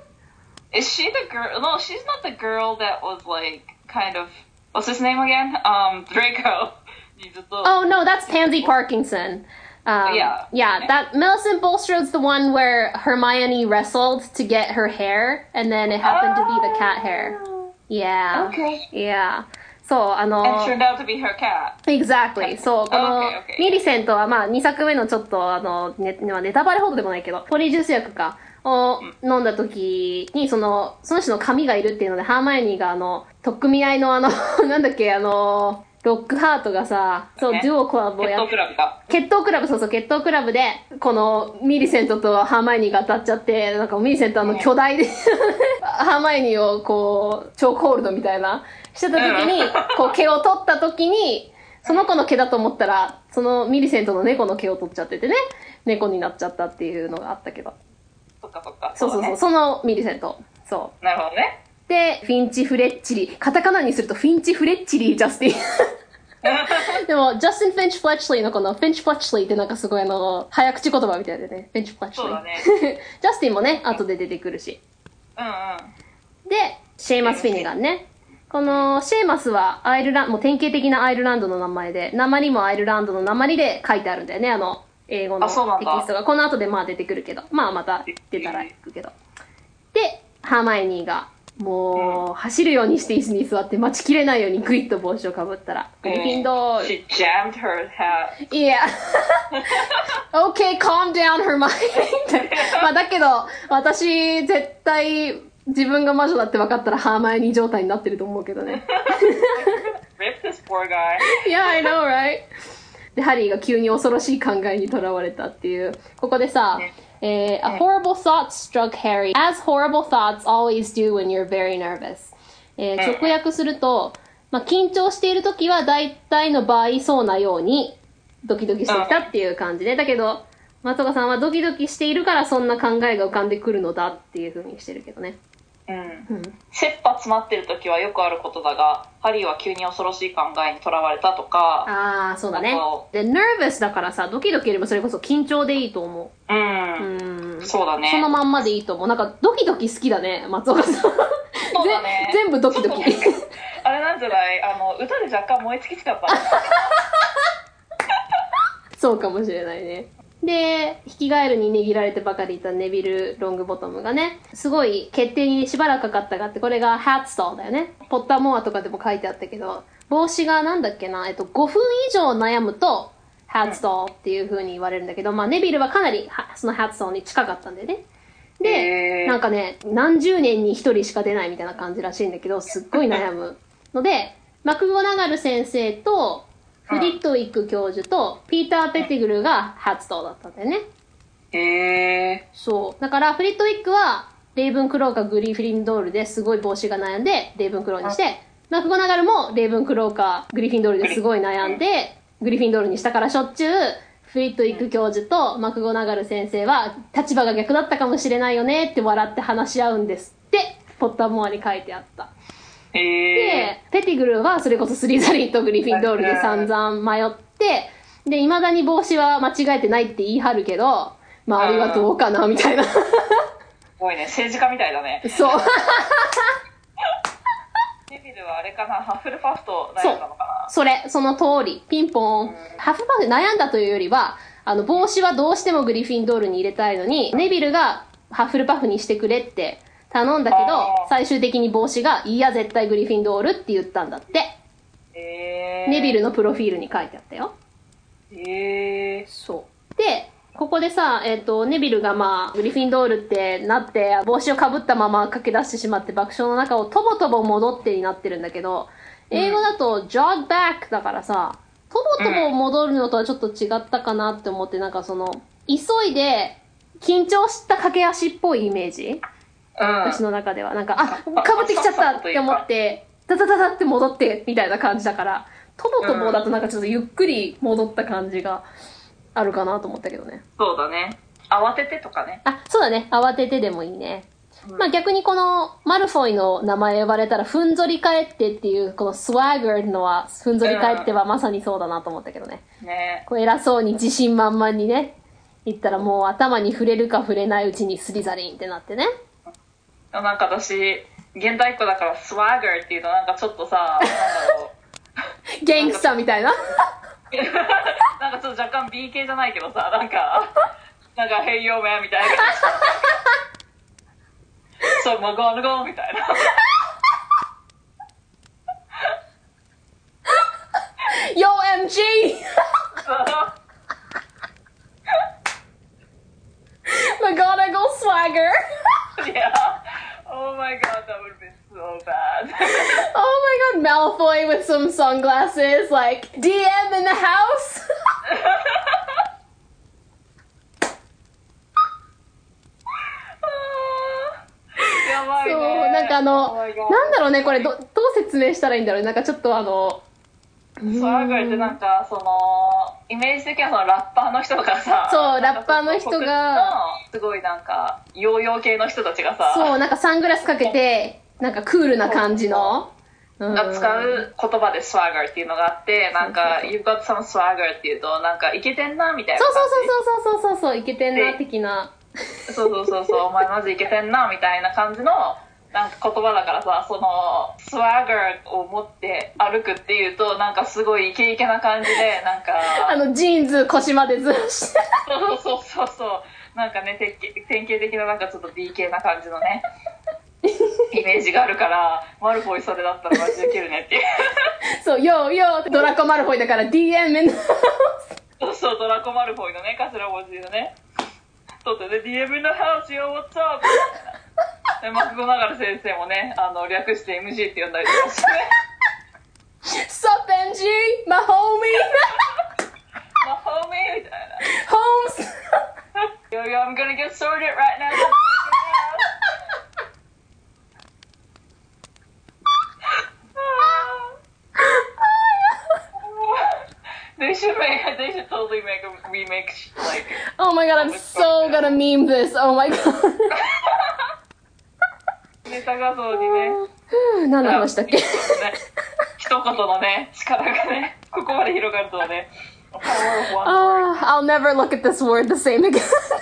Is she the girl? No, she's not the girl that was like, kind of, what's his name again? Um, Draco. Oh, no, that's Pansy Parkinson. Um, Yeah. Yeah, that Millicent Bulstrode's the one where Hermione wrestled to get her hair, and then it happened to be the cat hair. Yeah. Okay. Yeah. そう、あの And turned out to be her cat. Exactly. そう、この Okay, okay. ミリセントはまあにさくめのちょっとあの、ね、まあネタバレほどでもないけど、ポリジュース薬かを飲んだ時に、その、その人の髪がいるっていうので、ハーマイオニーがあの、取っ組み合いのあの、なんだっけ、あの、ロックハートがさ、そう、 ねデュオクラブを血やっ統クラブか。 決闘クラブ、そうそう、決闘クラブで、このミリセントとハーマイオニーが当たっちゃって、なんかミリセントあの巨大で、ハーマイオニーをこう、チョークホールドみたいな、してた時に、こう毛を取った時に、その子の毛だと思ったら、そのミリセントの猫の毛を取っちゃっててね、猫になっちゃったっていうのがあったけど。 そっかそっか。 そうそうそう、 だねそのミリセント。そなるほどね。 う。で、フィンチ・フレッチリー。カタカナにするとフィンチ・フレッチリー・ジャスティン。でも、ジャスティン・フィンチ・フレッチリーのこのフィンチ・フレッチリーってなんかすごいあの、早口言葉みたいでね。フィンチ・フレッチリー。 そうだねジャスティンもね、後で出てくるし。 うんうん。 で、シェイマス・フィニガンね。このシェイマスはアイルランド、もう典型的なアイルランドの名前で、鉛もアイルランドの鉛で書いてあるんだよね、あの、英語のあそうなんだテキストが。この後でまあ出てくるけど、まあまた出たら行くけど。で、ハーマイオニーが、もう、走るようにして椅子に座って待ちきれないようにグイッと帽子をかぶったら、グリフィンドール。 She jammed her hat. いや、Okay, calm down, Hermione. まあだけど、私、絶対、自分が魔女だって分かったらハーマイオニー状態になってると思うけどね。 Rip this poor guy. Yeah, I know, right? で、ハリーが急に恐ろしい考えにとらわれたっていう。ここでさ、 ねえー A horrible thought struck Harry, as horrible thoughts always do when you're very nervous. えー直訳すると、まあ、緊張している時は大体の場合そうなようにドキドキしてきたっていう感じで、だけど、松岡さんはドキドキしているからそんな考えが浮かんでくるのだっていう風にしてるけどね。 うんうん。 切羽詰まってる時はよくあることだが、ハリーは急に恐ろしい考えにとらわれたとか、 ああ、そうだねあと。 で、nervous だからさ、ドキドキよりもそれこそ緊張でいいと思うん、 う。うん。 そうだね。 そのまんまでいいと思う。なんかドキドキ好きだね、松岡さん。 そうだねぜ全部ドキドキ。 あれなんじゃないあの、歌で若干燃え尽きちゃった。 そうかもしれないね。で、ヒキガエルにねぎられてばかりいたネビル・ロングボトムがね、すごい決定にしばらくかかったがあって、これがハッツトーだよね。ポッターモアとかでも書いてあったけど、帽子がなんだっけな、えっと、ごふん以上悩むと、ハッツトーっていう風に言われるんだけど、まあネビルはかなりはそのハッツトーに近かったんだよね。で、 へーなんかね、何十年に一人しか出ないみたいな感じらしいんだけど、すっごい悩むので、マクゴナガル先生と、フリットウィック教授と、ピーター・ペティグルがハッツトーだったんだよね。 へえ。 そう。だから、フリットウィックは、レイブンクローかグリフィンドールですごい帽子が悩んで、レイブンクローにして、マクゴナガルもレイブンクローかグリフィンドールですごい悩んで、グリフィンドールにしたからしょっちゅう、フリットウィック教授とマクゴナガル先生は、立場が逆だったかもしれないよねって笑って話し合うんですって、ポッターモアに書いてあった。 へえ。 で、ペティグルはそれこそスリザリンとグリフィンドールで散々迷って、で、未だに帽子は間違えてないって言い張るけど、周りはどうかなみたいな。 すごいね、政治家みたいだね。 そう。 ネビルはあれかな、ハッフルパフと悩んだのかな。 それ、その通り。ピンポン。ハッフルパフで悩んだというよりは、あの、帽子はどうしてもグリフィンドールに入れたいのに、ネビルがハッフルパフにしてくれって頼んだけど、 あー最終的に帽子が、いや、絶対グリフィンドールって言ったんだって。 へえ。 ネビルのプロフィールに書いてあったよ。 へえ。 そう。で、ここでさ、えっ、と、ネビルがまあ、グリフィンドールってなって、帽子をかぶったまま駆け出してしまって爆笑の中をとぼとぼ戻ってになってるんだけど、英語だと、jog back だからさ、とぼとぼ戻るのとはちょっと違ったかなって思って、なんかその、急いで、緊張した駆け足っぽいイメージ、 うん。 私の中では。なんか、あ、かぶってきちゃったって思って、ダダダダって戻って、みたいな感じだから、とぼとぼだとなんかちょっとゆっくり戻った感じがあるかなと思ったけどね。 そうだね。慌ててとかね。 あ、そうだね。慌ててでもいいね。まあ逆にこのマルフォイの名前呼ばれたらふんぞり返ってっていうこのスワッガーのはふんぞり返ってはまさにそうだなと思ったけどね。 ね。 こう偉そうに自信満々にね、言ったらもう頭に触れるか触れないうちにスリザリンってなってね。 なんか私、現代っ子だからスワッガーっていうとなんかちょっとさ、なんだろう。 ゲングスターみたいな。 ななんかちょっと若干 B 系じゃないけどさ、なんかなんか Hey yo man みたいなそうもう gonna go みたいな Yo M G McGonagall swagger Yeah. Oh my god, that would have been so bad. Oh my god, Malfoy with some sunglasses, like, D M in the house? やばいね。 そう、なんかあの、 Oh my god なんだろうね、これど、どう説明したらいいんだろう。なんかちょっとあの、 スワーガーってなんかそのイメージ的にはそのラッパーの人とかさ、 そうラッパーの人がすごいなんかヨーヨー系の人たちがさ、 そうなんかサングラスかけてなんかクールな感じのが使う言葉でスワーガーっていうのがあって、なんか You've got some swagger っていうとなんかイケてんなみたいなそう感じ。 そうそうそうそうそうそうイケてんな的な。 そうそうそうそうお前マジイケてんなみたいな感じのなんか言葉だからさ、そのスワーガーを持って歩くっていうとなんかすごいイケイケな感じでなんかあのジーンズ腰までずらしてそうそうそうそうなんかね典型典型的ななんかちょっと B 系な感じのねイメージがあるからマルフォイそれだったらマジでウケるねっていうそうヨーヨードラコマルフォイだから ディーエム in the house そうそうドラコマルフォイのね頭文字のねとってね ディーエム in the house yo what's up でマクゴナガル先生もねあの略して エムジー って呼んだりとかしてね Supエムジー my homie my homie みたいな Holmes yo yo I'm gonna get sorted right now They should make. They should totally make a remake. Like. Oh my god, I'm so gonna meme this. Oh my god. ネタ画像にね。 何の話だっけ？ 一言のね力がねここまで広がるとはね。 Ah, I'll never look at this word the same again. もう二度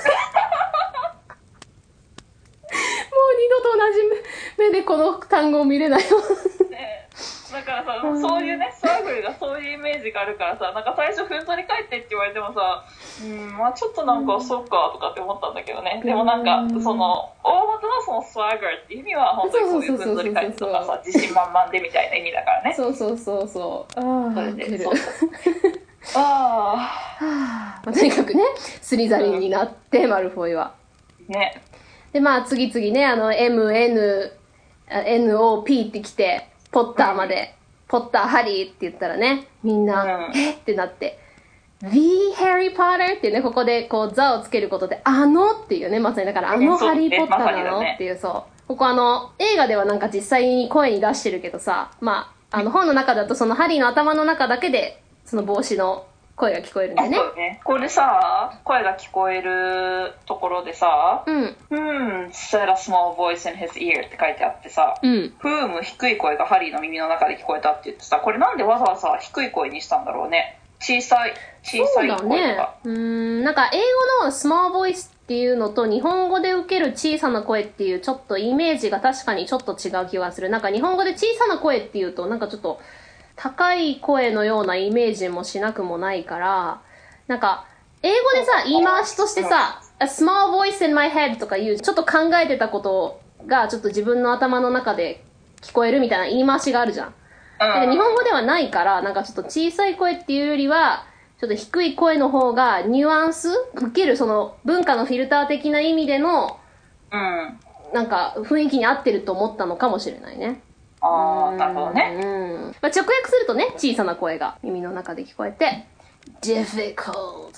と同じ目でこの単語を見れないよ。 ねだからさ、そういうね、スワグルがそういうイメージがあるからさ、なんか最初ふんぞり返ってって言われてもさ、うん、まあちょっとなんか、そっかとかって思ったんだけどね。でもなんか、その、大元のそのスワグルって意味は本当にそういうふんぞり返ってとかさ、自信満々でみたいな意味だからね。 そうそうそうそう。ああ、 それで、 そうああ。まあ、とにかくね、スリザリンになって、うん、マルフォイは。 ね。 で、まあ次々ね、あの、エムエヌ、エヌオーピー って来て、ポッターまで、うん、ポッターハリーって言ったらね、みんな、うん、えってなって、The Harry Potter っていうね、ここでこう、ザをつけることで、あのっていうね、まさにだから、あのハリーポッターなの、ね、っていう、そう。ここあの、映画ではなんか実際に声に出してるけどさ、まあ、あの、本の中だとそのハリーの頭の中だけで、その帽子の声が聞こえるんだよね。 そうね。これさ、声が聞こえるところでさ、うん。Hmm, said a small voice in his ear って書いてあってさ、うん。Whom 低い声がハリーの耳の中で聞こえたって言ってさ、これなんでわざわざ低い声にしたんだろうね。小さい、小さい声とか。そうだね。うーん、なんか英語の small voice っていうのと日本語で受ける小さな声っていうちょっとイメージが確かにちょっと違う気がする。なんか日本語で小さな声っていうとなんかちょっと高い声のようなイメージもしなくもないから、なんか、英語でさ、言い回しとしてさ、a small voice in my head とかいう、ちょっと考えてたことが、ちょっと自分の頭の中で聞こえるみたいな言い回しがあるじゃん。だから日本語ではないから、なんかちょっと小さい声っていうよりは、ちょっと低い声の方が、ニュアンス受ける、その、文化のフィルター的な意味での、うん。なんか、雰囲気に合ってると思ったのかもしれないね。 あー、なるほどね。 うん。まあ、直訳するとね、小さな声が耳の中で聞こえて、difficult,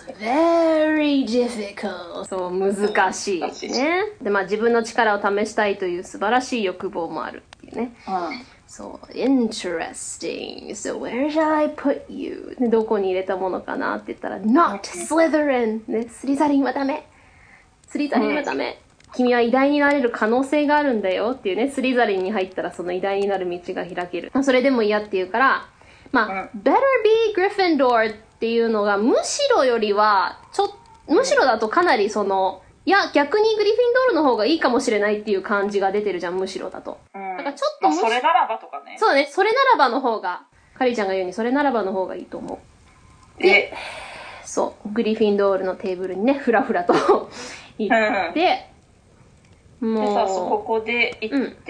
very difficult. そう、難しいね。で、まあ自分の力を試したいという素晴らしい欲望もあるっていうね。うん。そう、interesting. So where shall I put you? で、どこに入れたものかなって言ったら、not Slytherin. ね、スリザリンはダメ。スリザリンはダメ。うん君は偉大になれる可能性があるんだよっていうね、スリザリンに入ったらその偉大になる道が開ける。それでも嫌っていうから、まあ、うん、better be Gryffindor っていうのがむしろよりは、ちょ、むしろだとかなりその、いや、逆にグリフィンドールの方がいいかもしれないっていう感じが出てるじゃん、むしろだと。うん、だからちょっと、まあ、 それならばとかね。 そうね、それならばの方が、カリーちゃんが言うようにそれならばの方がいいと思う。で、 そうグリフィンドールのテーブルにねフラフラと行って、 うん、もうでさここで行って、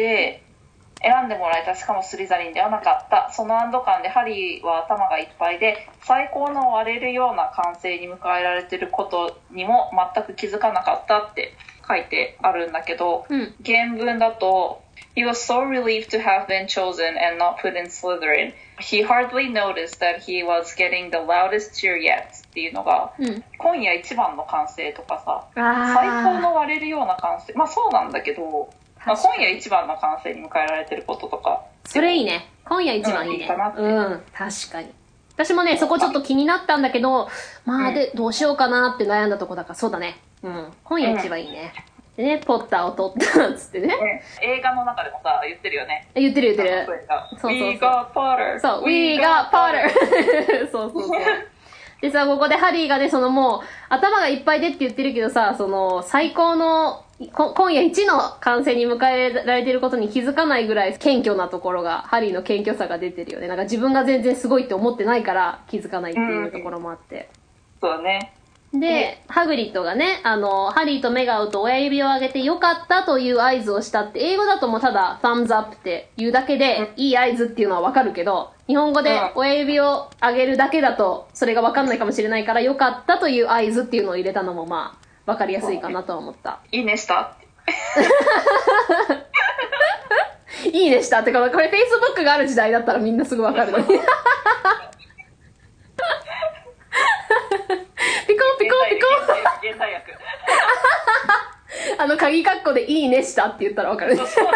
うん、選んでもらえたしかもスリザリンではなかった。その安堵感でハリーは頭がいっぱいで最高の割れるような歓声に迎えられてることにも全く気づかなかったって書いてあるんだけど、うん、原文だとHe was so relieved to have been chosen and not put in Slytherin. He hardly noticed that he was getting the loudest cheer yet. っていうのが、うん、今夜一番の歓声とかさ、最高の割れるような歓声。まあそうなんだけど、まあ、今夜一番の歓声に迎えられてることとか。 それいいね。今夜一番いいね。うん、いいかなって。うん、確かに。私もね、そこちょっと気になったんだけど、まあで、うん、どうしようかなって悩んだとこだから、そうだね。うん、今夜一番いいね。うんでね、ポッターを取ったっつってね、ね映画の中でもさ言ってるよね。 言ってる言ってる。 そうそうそう We got Potter そう We got Potter そうそうそうでさここでハリーがねそのもう頭がいっぱいでって言ってるけどさその最高の今夜一の歓声に迎えられてることに気づかないぐらい謙虚なところがハリーの謙虚さが出てるよね。なんか自分が全然すごいって思ってないから気づかないっていうところもあって、 うん、そうだね。 で、ハグリッドがね、あの、ハリーと目が合うと親指を上げてよかったという合図をしたって、英語だともうただ、thumbs up って言うだけで、いい合図っていうのはわかるけど、日本語で親指を上げるだけだと、それがわかんないかもしれないから、よかったという合図っていうのを入れたのもまあ、わかりやすいかなとは思った。 いいねしたいいねしたってこれ、これ Facebook がある時代だったらみんなすぐわかるのに。ピコンピコンピコン現代訳あの鍵カッコでいいねしたって言ったらわかる。そうそう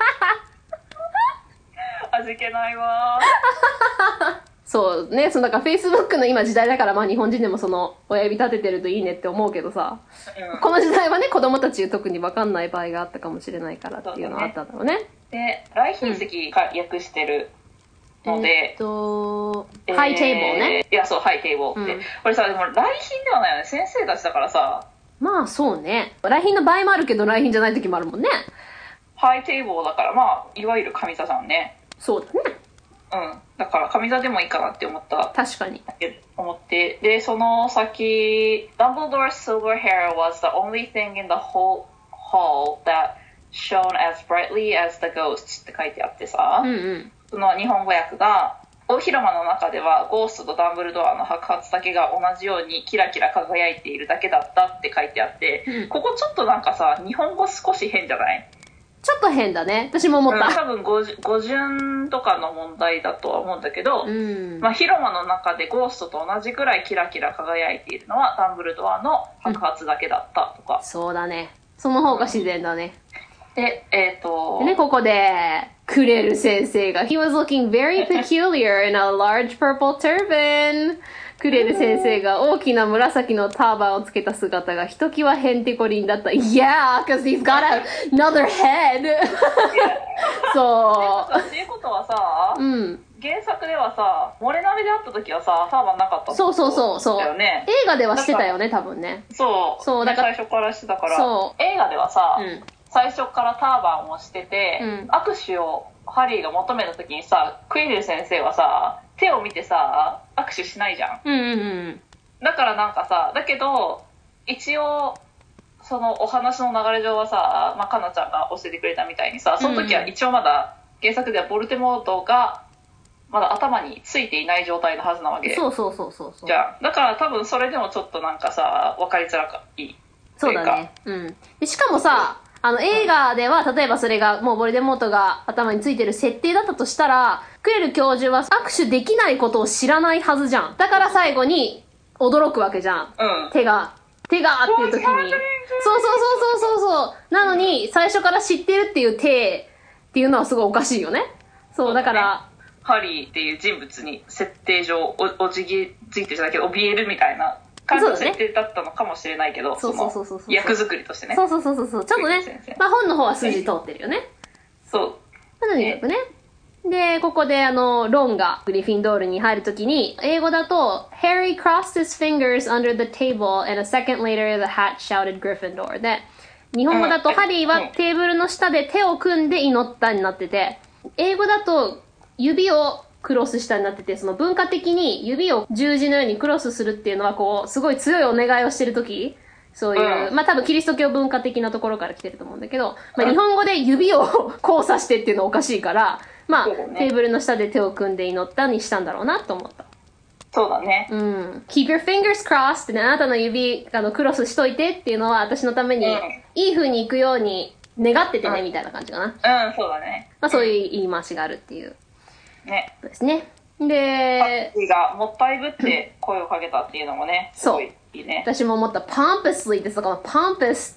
味気ないわそうね、そのだから Facebook の今時代だからまあ日本人でもその親指立ててるといいねって思うけどさ、うん、この時代はね子供たち特に分かんない場合があったかもしれないからっていうのはあったんだろうね。 で、来賓席が訳してるので、 えー、っと、えー、ハイテーブルね。 いやそうハイテーブルって、うん、これさでも来賓ではないよね、先生たちだからさ。 まあそうね、来賓の場合もあるけど来賓じゃない時もあるもんね。 ハイテーブルだからまあいわゆる上座じゃんね。 そうだね。 うん、だから上座でもいいかなって思った。 確かに思ってでその先 Dumbledore's silver hair was the only thing in the whole hall that shone as brightly as the ghosts って書いてあってさ、うんうん、その日本語訳が大広間の中ではゴーストとダンブルドアの白髪だけが同じようにキラキラ輝いているだけだったって書いてあって、うん、ここちょっとなんかさ日本語少し変じゃない？ ちょっと変だね。私も思った。 うん、多分語順とかの問題だとは思うんだけど、うん、まあ、広間の中でゴーストと同じくらいキラキラ輝いているのはダンブルドアの白髪だけだったとか。 うん、そうだね。その方が自然だね。 で、えっと。 でね、ここで、クレル先生が、He was looking very peculiar in a large purple turban. クレル先生が大きな紫のターバンをつけた姿がひときわへんてこりんだった。Yeah, because he's got another head. そう。っていうことはさ、うん、原作ではさ、モレナレで会った時はさ、ターバンなかったってことだよね。そうそうそうそう。映画ではしてたよね、多分ね。 そう。そうだから、ね、最初からしてたから。そう。映画ではさ、うん、最初からターバンをしてて、うん、握手をハリーが求めた時にさ、クイレル先生はさ、手を見てさ握手しないじゃん、うんうんうん、だからなんかさだけど一応そのお話の流れ上はさ、まあ、かなちゃんが教えてくれたみたいにさその時は一応まだ原作ではボルテモートがまだ頭についていない状態のはずなわけ。 そうそうそうそうそう。 じゃあだから多分それでもちょっとなんかさ分かりづらいいそうだね、うん、でしかもさあの映画では例えばそれがもうボルデモートが頭についてる設定だったとしたらクレル教授は握手できないことを知らないはずじゃん。だから最後に驚くわけじゃん、うん、手が手がっていう時にそうそうそうそうそうそうなのに最初から知ってるっていう手っていうのはすごいおかしいよね。そうだから、ね、 ハリーっていう人物に設定上 お, おじぎついてるじゃないけど怯えるみたいな感じの設定だったのかもしれないけど、その役作りとしてね。 そうそうそうそうそう。ちょっとね、まあ本の方は筋通ってるよね。 そう。 まあ、とにかくね。で、ここであの、ロンがグリフィンドールに入るときに、英語だと、Harry crossed his fingers under the table and a second later the hat shouted Gryffindor で、日本語だとハリーはテーブルの下で手を組んで祈ったになってて、英語だと指をクロス下になってて、その文化的に指を十字のようにクロスするっていうのは、こう、すごい強いお願いをしてるとき、そういう、うん、まあ多分キリスト教文化的なところから来てると思うんだけど、まあ日本語で指を交差してっていうのはおかしいから、まあ、ね、テーブルの下で手を組んで祈ったにしたんだろうなと思った。 そうだね。 うん。keep your fingers crossed ってね、あなたの指、あの、クロスしといてっていうのは私のために、いい風に行くように願っててね、うん、みたいな感じかな。 うん、そうだね。 まあそういう言い回しがあるっていう。 ね。 そうですね。で、 パッがもったいぶって声をかけたっていうのもね、すごいいいね。 私も思った。pompously ってさ、この pompous って、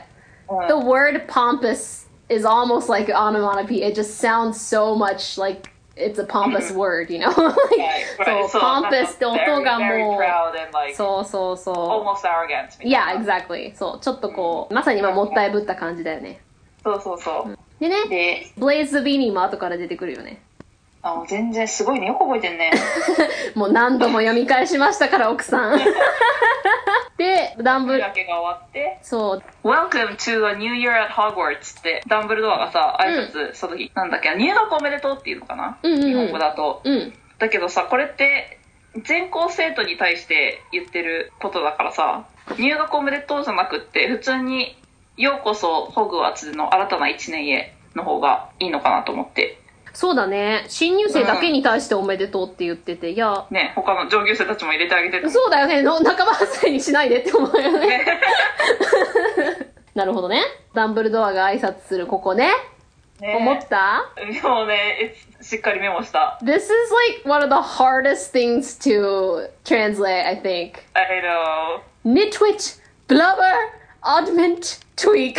うん、the word pompous is almost like an onomatopoeia. It just sounds so much like it's a pompous word, you know? like, そう、pompous って音がもう、そうそうそう。 almost arrogant. Yeah, exactly. そう、ちょっとこう、まさに今もったいぶった感じだよね。 そうそうそう。 でね、で Blaze the Beanie も後から出てくるよね。 あ、もう全然すごいね。よく覚えてんね。 もう何度も読み返しましたから、奥さん。で、ダンブルだけが終わって、 そう。 Welcome to a new year at Hogwarts ってダンブルドアがさ、挨拶した時、うん、なんだっけ、入学おめでとうっていうのかな、うんうんうん、日本語だと、うん。だけどさ、これって全校生徒に対して言ってることだからさ、入学おめでとうじゃなくって、普通にようこそホグワーツの新たな一年への方がいいのかなと思って。 そうだね。新入生だけに対しておめでとうって言ってて、いや。 ね、他の上級生たちも入れてあげてる。 そうだよね。の仲間外れにしないでって思うよね。ねなるほどね。ダンブルドアが挨拶するここね。ね思ったもうね、しっかりメモした。 This is like one of the hardest things to translate, I think. I know. Nitwit, blubber, oddment, tweak. What the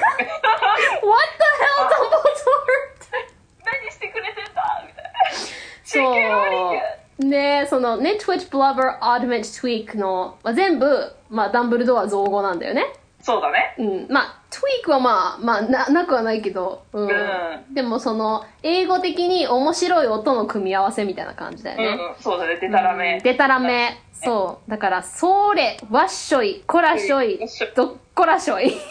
hell, Dumbledore? 何してくれてんだみたいな。 そうね、その Nitwit, Blubber, Oddment, Tweak の、まあ、全部、まあ、ダンブルドア造語なんだよね。 そうだね。 うん。まあ、Tweak はまあ、まあ、な、なくはないけど、うん。うん、でもその、英語的に面白い音の組み合わせみたいな感じだよね。 うん、うん、そうだね。でたらめ。 うん、でたらめ。そう。だから、それ、わっしょい、こらしょい、どっこらしょい。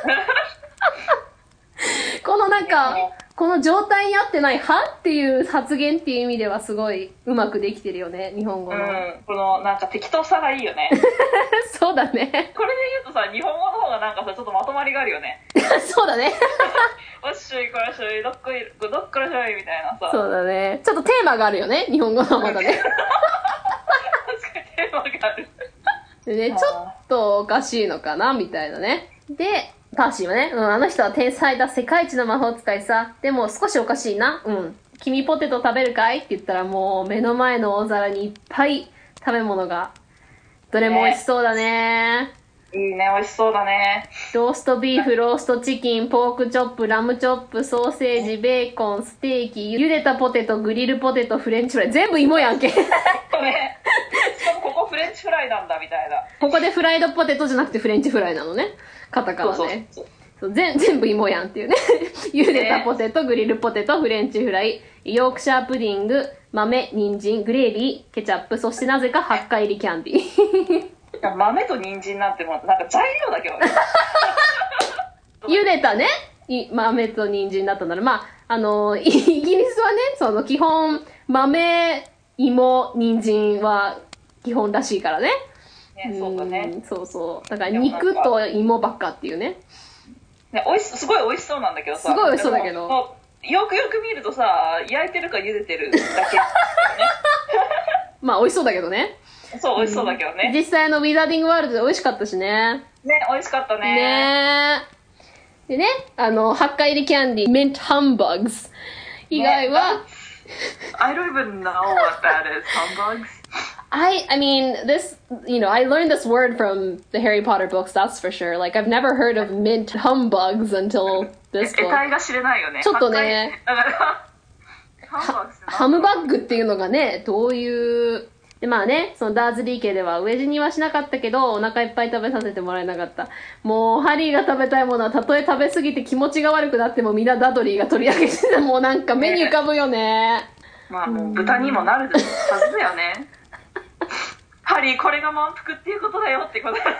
このなんか、この状態に合ってないはっていう発言っていう意味ではすごいうまくできてるよね、日本語の。 うん、このなんか適当さがいいよね。 そうだね。 これで言うとさ、日本語の方がなんかさ、ちょっとまとまりがあるよね。 そうだね。 おっしょいこらしょい、どっこい、どっこらしょいみたいなさ。 そうだね。ちょっとテーマがあるよね、日本語のまだね。 確かにテーマがある。 でね、ちょっとおかしいのかな、みたいなね。で、パーシーはね、うん、あの人は天才だ、世界一の魔法使いさ。でも少しおかしいな。うん。君ポテト食べるかいって言ったらもう目の前の大皿にいっぱい食べ物が。どれも美味しそうだね。 いいね、美味しそうだね。 ローストビーフ、ローストチキン、ポークチョップ、ラムチョップ、ソーセージ、ベーコン、ステーキ、茹でたポテト、グリルポテト、フレンチフライ。全部芋やんけ。ね。 しかもここフレンチフライなんだみたいな。 ここでフライドポテトじゃなくてフレンチフライなのね。カタカナね。そうそうそうそう全全部芋やんっていうね。茹でたポテト、グリルポテト、フレンチフライ、ヨークシャープディング、豆、人参、グレービー、ケチャップ、そしてなぜかはっか入りキャンディー。 豆と人参なんてもうなんか材料だけどね。 茹でたね、豆と人参だったなら、まあ、あの、イギリスはね、その基本、豆、芋、人参は基本らしいからね。 ね、そうだね。 そうそう。だから肉と芋ばっかっていうね。 ね、おいし、すごい美味しそうなんだけどさ。 すごい美味しそうだけど。 よくよく見るとさ、焼いてるか茹でてるだけ、ね。 まあ美味しそうだけどね。 そう、美味しそうだけどね。 実際のウィザーディングワールドで美味しかったしね。 ね、美味しかったね。 ねでね、あの、はっか入りキャンディー、ミントハンバーグス以外は、 ね、I don't even know what that is, humbugs. I, I mean, this, you know, I learned this word from the Harry Potter books, that's for sure. Like, I've never heard of mint humbugs until this book. 得体が知れないよね。 ちょっとね、 だからハムバッグっていうのがね、どういう、で、まあね、そのダーズリー家では飢え死にはしなかったけど、お腹いっぱい食べさせてもらえなかった。もう、ハリーが食べたいものは、たとえ食べ過ぎて気持ちが悪くなっても、みんなダドリーが取り上げてて、もうなんか目に浮かぶよね。 まあもう豚にもなるはずだよね。ハリー、これが満腹っていうことだよってこと。あー、poor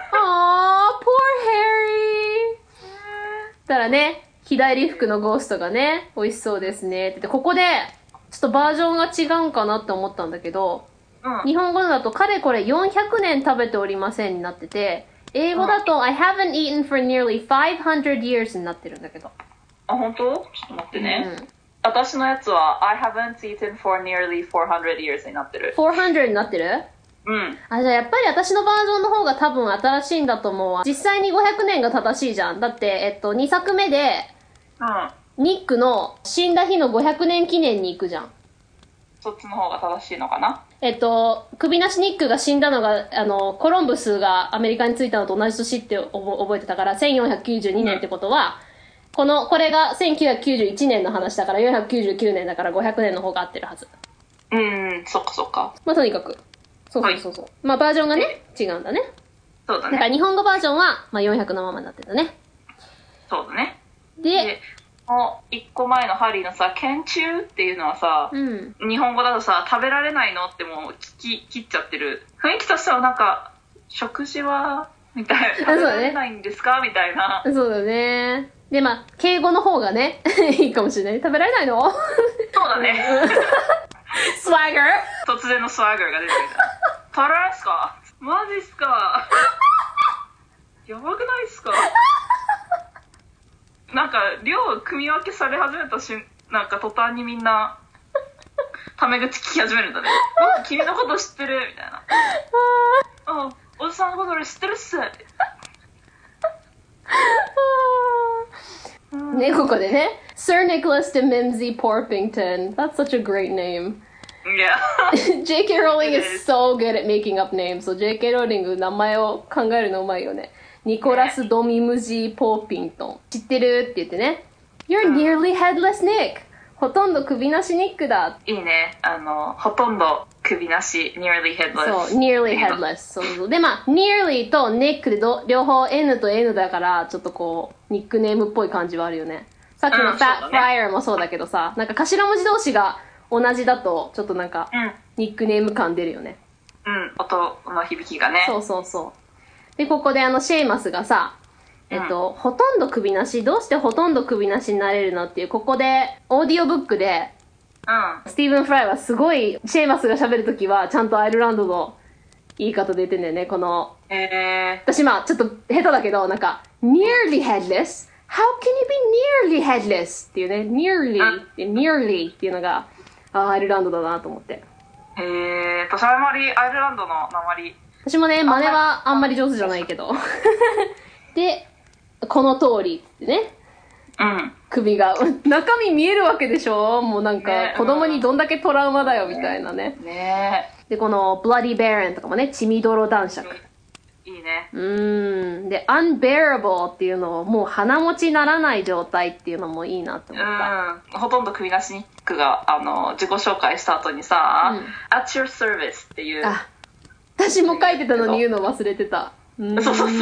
Harry。たらね、日帰り服のゴーストがね、美味しそうですねって言って、ここで、 ちょっとバージョンが違うんかなって思ったんだけど、 うん、 日本語だとかれこれよんひゃくねん食べておりませんになってて、英語だと、うん、I haven't eaten for nearly five hundred years になってるんだけど。 あ、本当？ちょっと待ってね。うん、私のやつは I haven't eaten for nearly four hundred years になってる。 よんひゃくになってる？ うん。 あ、じゃあやっぱり私のバージョンの方が多分新しいんだと思うわ。実際にごひゃくねんが正しいじゃん。だって、えっと、にさくめで、うん、ニックの死んだ日のごひゃくねん記念に行くじゃん。 そっちの方が正しいのかな？ えっと、首なしニックが死んだのが、あの、コロンブスがアメリカに着いたのと同じ年って覚えてたから、せんよんひゃくきゅうじゅうにねんってことは、うん、この、これがせんきゅうひゃくきゅうじゅういちねんの話だから、よんひゃくきゅうじゅうきゅうねんだからごひゃくねんの方が合ってるはず。 うん、そっかそっか。 まあ、とにかく。そうそうそうそう。はい、まあ、バージョンがね、違うんだね。 そうだね。 だから日本語バージョンは、まあ、よんひゃくのままになってたね。 そうだね。 で、 でもう一個前のハリーのさ、研中っていうのはさ、うん、日本語だとさ、食べられないのってもう聞き切っちゃってる。雰囲気としてはなんか、食事はみたいな。食べられないんですか、ね、みたいな。 そうだね。で、まあ、敬語の方がね、いいかもしれない。食べられないの？ そうだね。 スワガー？ 突然のスワガーが出てきた。食べられないっすか？マジっすか？やばくないっすか？なんか量組み分けされ始めた瞬なんか途端にみんなタメ口聞き始めるんだね。君のこと知ってるみたいな。あ、おじさんのこと俺知ってるっす。 ね、ここでね Sir Nicholas de Mimsy Porpington. That's such a great name. Yeah. ジェイケー Rowling is so good at making up names. So ジェイケー Rowling 名前を考えるのうまいよね。ニコラス・ドミムジー・ポーピントン。知ってるって言ってね。You're nearly headless Nick. ほとんど首なしニックだ。 いいね。あの、ほとんど首なし、nearly headless。 そう、nearly headless。そうそう。で、まあ、nearly と Nick でど両方 N と N だから、ちょっとこう、ニックネームっぽい感じはあるよね。さっきの Fat Friar もそうだけどさ、なんか頭文字同士が同じだと、ちょっとなんか、ニックネーム感出るよね。 うん、音の響きがね。 そうそうそう。で、ここであの、シェイマスがさ、えっと、うん、ほとんど首なし、どうしてほとんど首なしになれるのっていう、ここで、オーディオブックで、うん、スティーブン・フライはすごい、シェイマスが喋るときは、ちゃんとアイルランドの言い方で言ってんだよね、この、 えー、 私まあ、ちょっと下手だけど、なんか、nearly headless? How can you be nearly headless? っていうね、nearly って、nearly っていうのが、あアイルランドだなと思って。 へえー、私あんまりアイルランドの訛り、 私もね、真似はあんまり上手じゃないけど。で、この通りってね。 うん。 首が、中身見えるわけでしょ？もうなんか、子供にどんだけトラウマだよみたいなね。 ねえ。 で、この、Bloody Baron とかもね、血みどろ男爵。 いいね。 うーん。で、Unbearable っていうのを、もう鼻持ちならない状態っていうのもいいなって思った。 うん。ほとんど首なしニックが、あの、自己紹介した後にさ、うん、At your service っていう。 あ私も書いてたのに言うの忘れてた。 そうそうそう。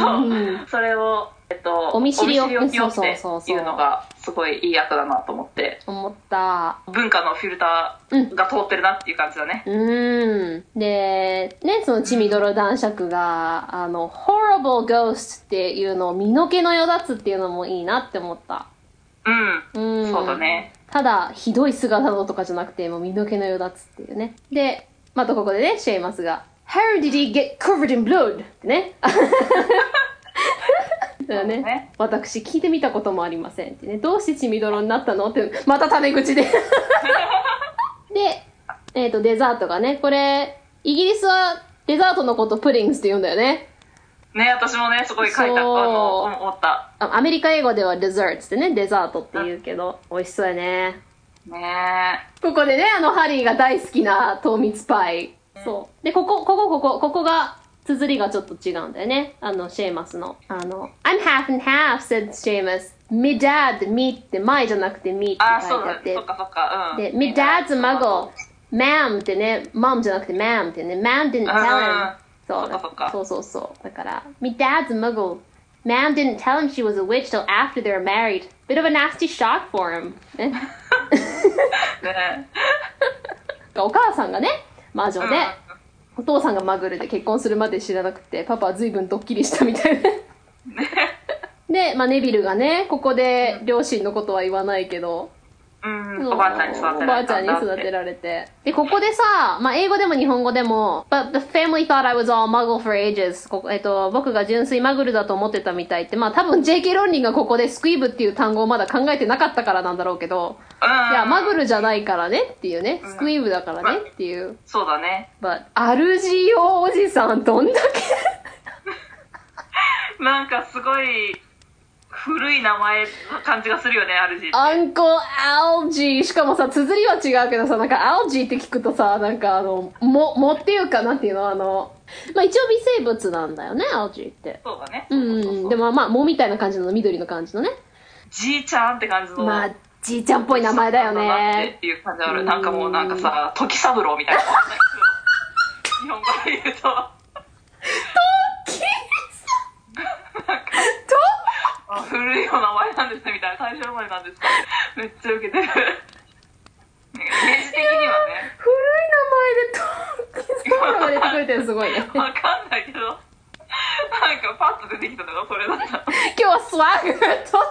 それを、えっと、 お見知りおきよっていうのがすごいいい役だなと思って。 思った。 文化のフィルターが通ってるなっていう感じだね。 うん。で、ね、その血みどろ男爵が、あの、horrible ghost っていうのを身の毛のよだつっていうのもいいなって思った。 うん。うん。そうだね。 ただ、ひどい姿のとかじゃなくて、もう身の毛のよだつっていうね。で、またここでね、シェイマスが、How did he get covered in blood? ってね。だよね、ね、私聞いてみたこともありませんってね。どうして血みどろになったのって、またタメ口で。で、えっと、デザートがね、これ、イギリスはデザートのことプリングスって言うんだよね。 ね、私もね、すごい書いた、あの、思った。 アメリカ英語ではデザートってね、デザートって言うけど、美味しそうやね。 ねここでね、あの、ハリーが大好きな糖蜜パイ。そう。で、ここ、ここ、ここ、ここが、綴りがちょっと違うんだよね。あの、シェーマスの。あの、I'm half and half, said Seamus. Me dad, me って、my じゃなくて me って書いてあって。 あ、そうだ、そっかそっか、うん。 で、me dad's a muggle. Ma'am ってね、mom じゃなくて ma'am ってね、ma'am didn't tell him. そうそっかそっか。 そうそうそう。だから、me dad's a muggle. Ma'am didn't tell him she was a witch till after they were married. Bit of a nasty shock for him. ね。 ねお母さんがね、魔女で、うんお父さんがマグルで結婚するまで知らなくて、パパは随分ドッキリしたみたいな。で、まあ、ネビルがね、ここで両親のことは言わないけど、 うん、おばあちゃんに育てられたんだって。 おばあちゃんに育てられて。で、ここでさ、まあ、英語でも日本語でも、But the family thought I was all muggle for ages. ここえっと、僕が純粋マグルだと思ってたみたいって、まあ、多分 ジェイケー ロンリンがここでスクイーブっていう単語をまだ考えてなかったからなんだろうけど、 うん、 いや、マグルじゃないからねっていうね、スクイーブだからねっていう。 うん、そうだね。 But、アルジオおじさん、どんだけなんかすごい、古い名前の感じがするよね、アルジーって。 アンコアルジー。しかもさ、綴りは違うけどさ、なんかアルジーって聞くとさ、なんかあの、も、もっていうか、なんていうの、あの、まあ一応微生物なんだよね、アルジーって。 そうだね。 うん。でもまあ、藻みたいな感じの緑の感じのね。 じいちゃんって感じの。 まあ、じいちゃんっぽい名前だよね。 っていう感じある。なんかもうなんかさ、時三郎みたいな。日本語で言うと。 時なんか古いお名前なんですねみたいな、大正生まれなんですか、めっちゃウケてる。イメージ的にはね、 古い名前で時三郎が出てくれてるすごいね。 わかんないけど、なんかパッと出てきたのがそれだった。 今日はスワッグと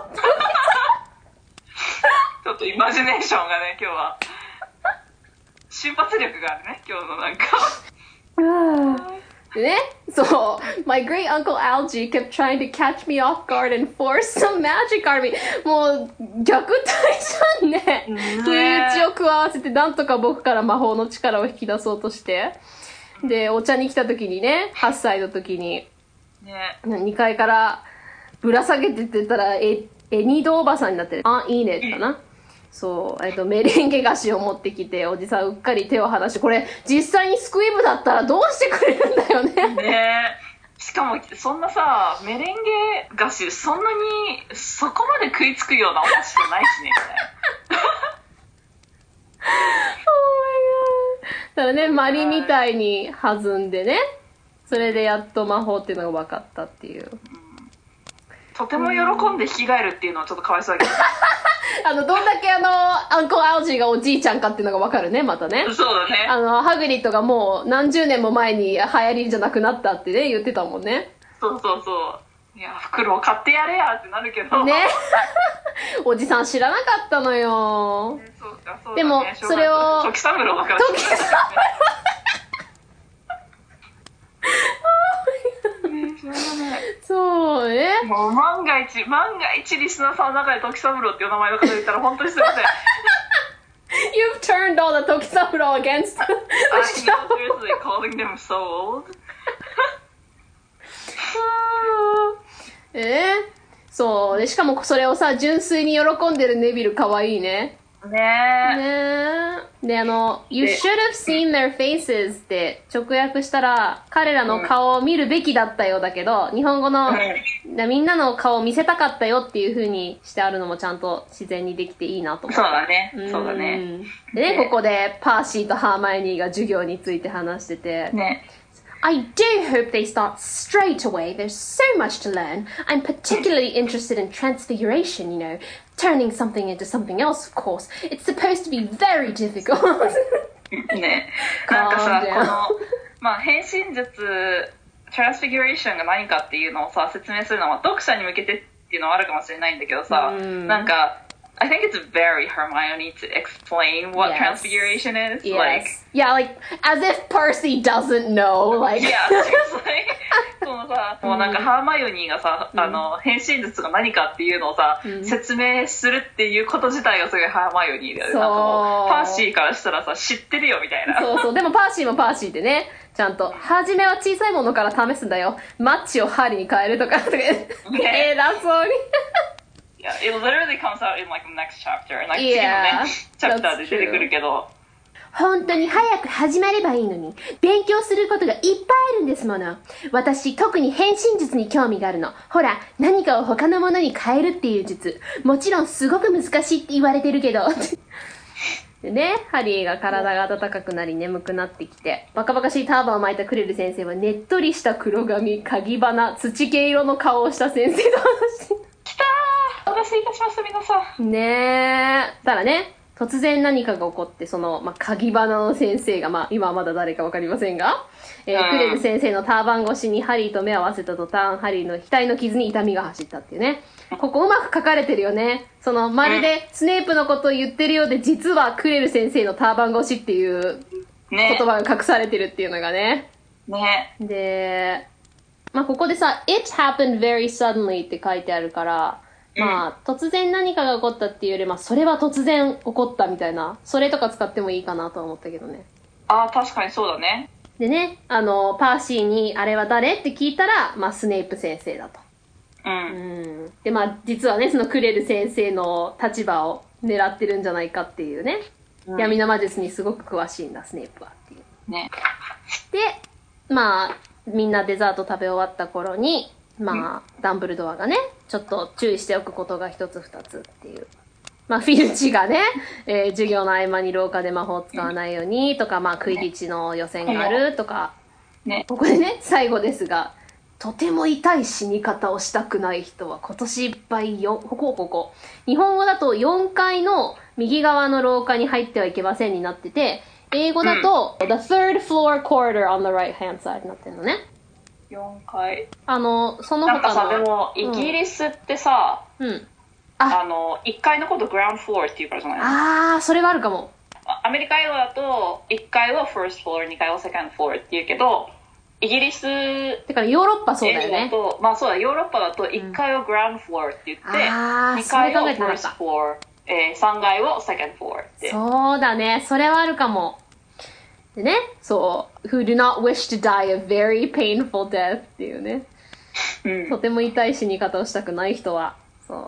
ちょっとイマジネーションがね、今日は瞬発力があるね、今日のなんか。 ね、そう、My great uncle Algie kept trying to catch me off guard and force some magic on me. もう虐待じゃんね。不意打ちを加わせてなんとか僕から魔法の力を引き出そうとして、でお茶に来た時にね、はっさいの時に、ね、にかいからぶら下げてってたらえエニドおばさんになってる。あ、いいねかな。そう、えっと、メレンゲ菓子を持ってきて、おじさんうっかり手を離して、これ、実際にスクイーブだったらどうしてくれるんだよね。 ねえ。しかも、そんなさ、メレンゲ菓子、そんなに、そこまで食いつくようなお菓子じゃないしね、みたいな。 Oh my god。だからね、マリみたいに弾んでね、それでやっと魔法っていうのが分かったっていう。うん、 とても喜んで引き換えるっていうのはちょっとかわいそうだけど。 あの、どんだけあの、アンコアルジーがおじいちゃんかっていうのがわかるね、またね。 そうだね。 あの、ハグリッドがもう何十年も前に流行りじゃなくなったってね、言ってたもんね。 そうそうそう。いや、袋を買ってやれやってなるけど。 ね。おじさん知らなかったのよ。 ね、そうか、そうだね。 でも、それを。 時三郎だから。時三郎。 そうね。 もう万が一、万が一リスナーさんの中で時三郎っていう名前の方いたら本当にすみません。 You've turned all the 時三郎 against the show. I'm seriously calling them so old. えー、そうで、しかもそれをさ、純粋に喜んでるネビルかわいいね。 ねえ。 ねえ。で、あの、You should have seen their faces って直訳したら、彼らの顔を見るべきだったようだけど、日本語の、うん、みんなの顔を見せたかったよっていう風にしてあるのもちゃんと自然にできていいなと思って。 そうだね。そうだね。 でね、ここでパーシーとハーマイオニーが授業について話してて、 ね。 I do hope they start straight away. There's so much to learn. I'm particularly interested in transfiguration, you know, turning something into something else, of course. It's supposed to be very difficult. ね、なんかさ、この、まあ、変身術、transfiguration が何かっていうのをさ、説明するのは読者に向けてっていうのはあるかもしれないんだけどさ、なんか、I think it's very Hermione to explain what yes. transfiguration is. Yes. Like, yeah, like as if Percy doesn't know. Like, yeah, seriously. そのさ、もうなんかハーマイオニーがさ、あの変身術が何かっていうのをさ、説明するっていうこと自体がすごいハーマイオニーだよね。なんかもうパーシーからしたらさ、知ってるよみたいな。 そうそう。でもパーシーもパーシーでね、ちゃんと初めは小さいものから試すんだよ。マッチを針に変えるとかとか。偉そうに。 Yeah, it literally comes out in like the next chapter. And like, yeah, 次のね、チャプターで出てくるけど。 本当に早く始まればいいのに、勉強することがいっぱいあるんですもの。私、特に変身術に興味があるの。ほら、何かを他のものに変えるっていう術。もちろんすごく難しいって言われてるけど。でね、ハリーが体が温かくなり眠くなってきて、バカバカしいターバンを巻いたクレル先生は、ねっとりした黒髪、鍵花、土毛色の顔をした先生と話してきたー、お待たせいたしました皆さん。 ねえ。ただね、突然何かが起こって、その、まあ、鍵花の先生が、まあ、今はまだ誰かわかりませんが、えー、クレル先生のターバン越しにハリーと目を合わせた途端、ハリーの額の傷に痛みが走ったっていうね。 ここうまく書かれてるよね。その、まるでスネープのことを言ってるようで、実はクレル先生のターバン越しっていう言葉が隠されてるっていうのがね。 ね。 で、まあここでさ、it happened very suddenly って書いてあるから、まあ、突然何かが起こったっていうより、まあ、それは突然起こったみたいな、それとか使ってもいいかなとは思ったけどね。 ああ、確かにそうだね。 でね、あの、パーシーに、あれは誰って聞いたら、まあ、スネイプ先生だと。 うん。 うん。で、まあ、実はね、そのクレル先生の立場を狙ってるんじゃないかっていうね。うん、闇の魔術にすごく詳しいんだ、スネイプはっていう。 ね。 で、まあ、みんなデザート食べ終わった頃に、まあ、ダンブルドアがね、ちょっと注意しておくことが一つ二つっていう。まあ、フィルチがね、えー、授業の合間に廊下で魔法を使わないようにとか、まあ、クイディッチの予選があるとか、ね、ここでね、最後ですが、とても痛い死に方をしたくない人は今年いっぱいよ、ここここ。日本語だとよんかいの右側の廊下に入ってはいけませんになってて、英語だと、うん、the third floor corridor on the right hand side になってるのね。 よんかい。 あの、その他の。 なんかさ、でも、イギリスってさ、 うん。 あ, あの、いっかいのことグラウンドフロアって言うからじゃないの？ あー、それはあるかも。 アメリカ英語だと、いっかいを first floor、にかいを second floor って言うけど、イギリス、 てかヨーロッパそうだよね。 とまあそうだ、ヨーロッパだといっかいをグラウンドフロアって言って、うん、にかいを first floor、えー、さんがいを second floor って。 そうだね、それはあるかも。でね、そう、who do not wish to die a very painful death っていうね、うん、とても痛い死に方をしたくない人は、そう。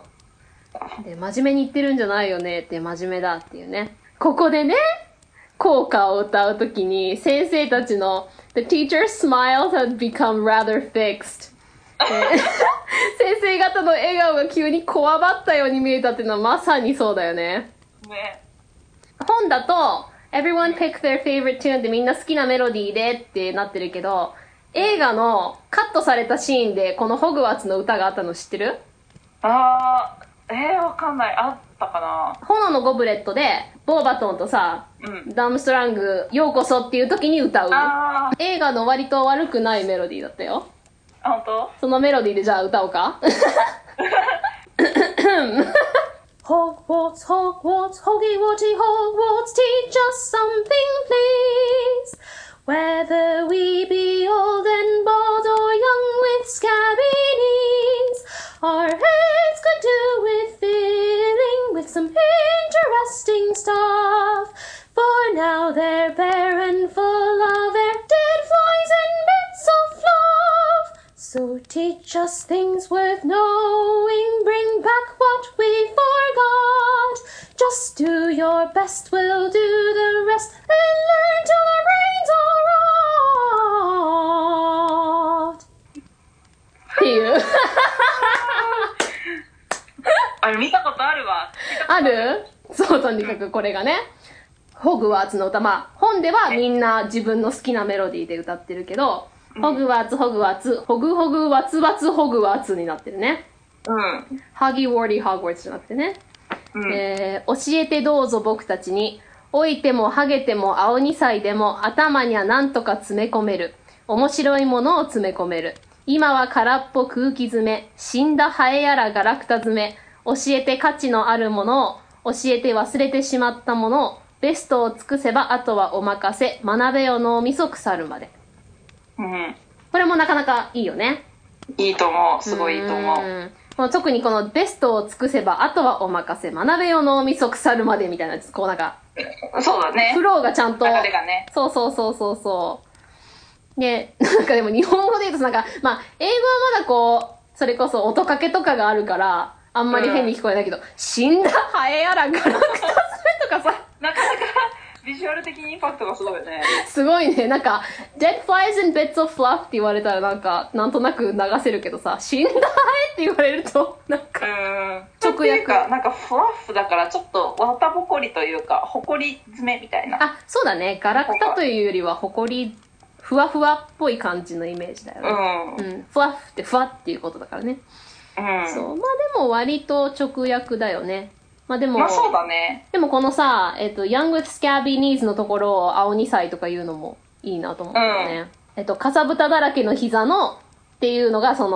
で、真面目に言ってるんじゃないよねって、真面目だっていうね。ここでね、校歌を歌うときに、先生たちの The teacher's smile had become rather fixed 先生方の笑顔が急にこわばったように見えたっていうのはまさにそうだよね。 ね。 本だと、Everyone pick their favorite tune ってみんな好きなメロディーでってなってるけど、映画のカットされたシーンでこのホグワーツの歌があったの知ってる？ あー、えー、わかんない。あったかな。 炎のゴブレットで、ボーバトンとさ、うん、ダムストラング、ようこそっていう時に歌う。映画の割と悪くないメロディーだったよ。 あ、本当？ そのメロディーでじゃあ歌おうかHogwarts, Hogwarts, Hoggy Woggy Hogwarts, teach us something, please. Whether we be old and bald or young with scabby knees, our heads could do with filling with some interesting stuff. For now they're bare and full of air, dead flies and bits of fluff. So teach us things worth knowing, bring back what we forgot. Just do your best, we'll do the rest, and learn till our brains are rot. っていうあれ見たことあるわ。 ある？そう、とにかくこれがね、ホグワーツの歌。まあ本ではみんな自分の好きなメロディーで歌ってるけど、ホグワーツ、ホグワーツ、ホグホグワツワツホグワーツになってるね。 うん。 ハギウォーディホグワーツじゃなくてね。うん、えー、教えてどうぞ僕たちに、老いてもハゲても青二歳でも頭にはなんとか詰め込める。面白いものを詰め込める。今は空っぽ空気詰め。死んだハエやらガラクタ詰め。教えて価値のあるものを、教えて忘れてしまったものを、ベストを尽くせばあとはお任せ。学べよ脳みそ腐るまで。 うん、 これもなかなかいいよね。 いいと思う。すごいいいと思う。 うん、特にこのベストを尽くせばあとはお任せ。学べよ脳みそ腐るまでみたいなやつ。こうなんか。 そうだね。 フローがちゃんと。 流れがね。 そうそうそうそうそう。で、なんかでも日本語で言うとなんか、まあ、英語はまだこう、それこそ音かけとかがあるから、あんまり変に聞こえないけど、うん、死んだハエやらガラクタ詰めとかさ。 なかなか。ビジュアル的にインパクトがすごいよね。 すごいね。なんか、dead flies and bits of fluff って言われたらなんか、なんとなく流せるけどさ、死んだハエって言われると、なんか、 直訳。なんかフラッフだからちょっと綿ぼこりというか、ほこり詰めみたいな。 あ、そうだね。ガラクタというよりはほこり、ふわふわっぽい感じのイメージだよね。うん。うん。フラッフってふわっていうことだからね。うん。そう。まあでも割と直訳だよね。まあでも、 まあそうだね。 でもこのさ、えっと、Young with Scabby Knees のところを青にさいとか言うのもいいなと思ったよね。うん、えっと、かさぶただらけの膝のっていうのがその、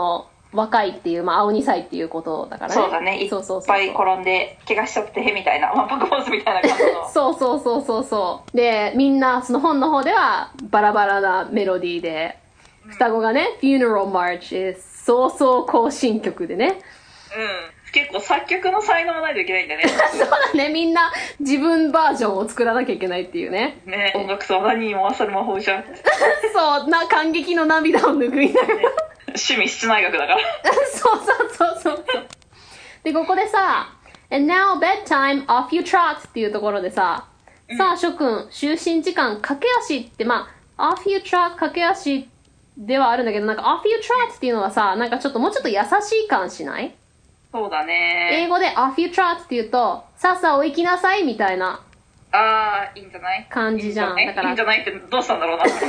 若いっていう、まあ、青にさいっていうことだからね。 そうだね。いっぱい転んで怪我しちゃってみたいな、まあ、パクボーズみたいな感じのそうそうそうそうそうで、みんなその本の方ではバラバラなメロディーで、うん、双子がね Funeral March 早々行進曲でね、 うん、結構作曲の才能がないといけないんだねそうだね、みんな自分バージョンを作らなきゃいけないっていうね。 ね、音楽とは何にも勝る魔法じゃんそうな、感激の涙を拭いながら、ね、 趣味室内楽だからそうそうそうそうで、ここでさ And now bedtime off you trot っていうところでさ、うん、さあ諸君就寝時間駆け足って、まあ off you trot 駆け足ではあるんだけど、なんか off you trot っていうのはさ、なんかちょっともうちょっと優しい感しない？ そうだね。 英語で off you trot って言うと、さっさお行きなさいみたいなあー、いいんじゃない感じじゃん。 いいんじゃない、 だからいいんじゃないってどうしたんだろうな off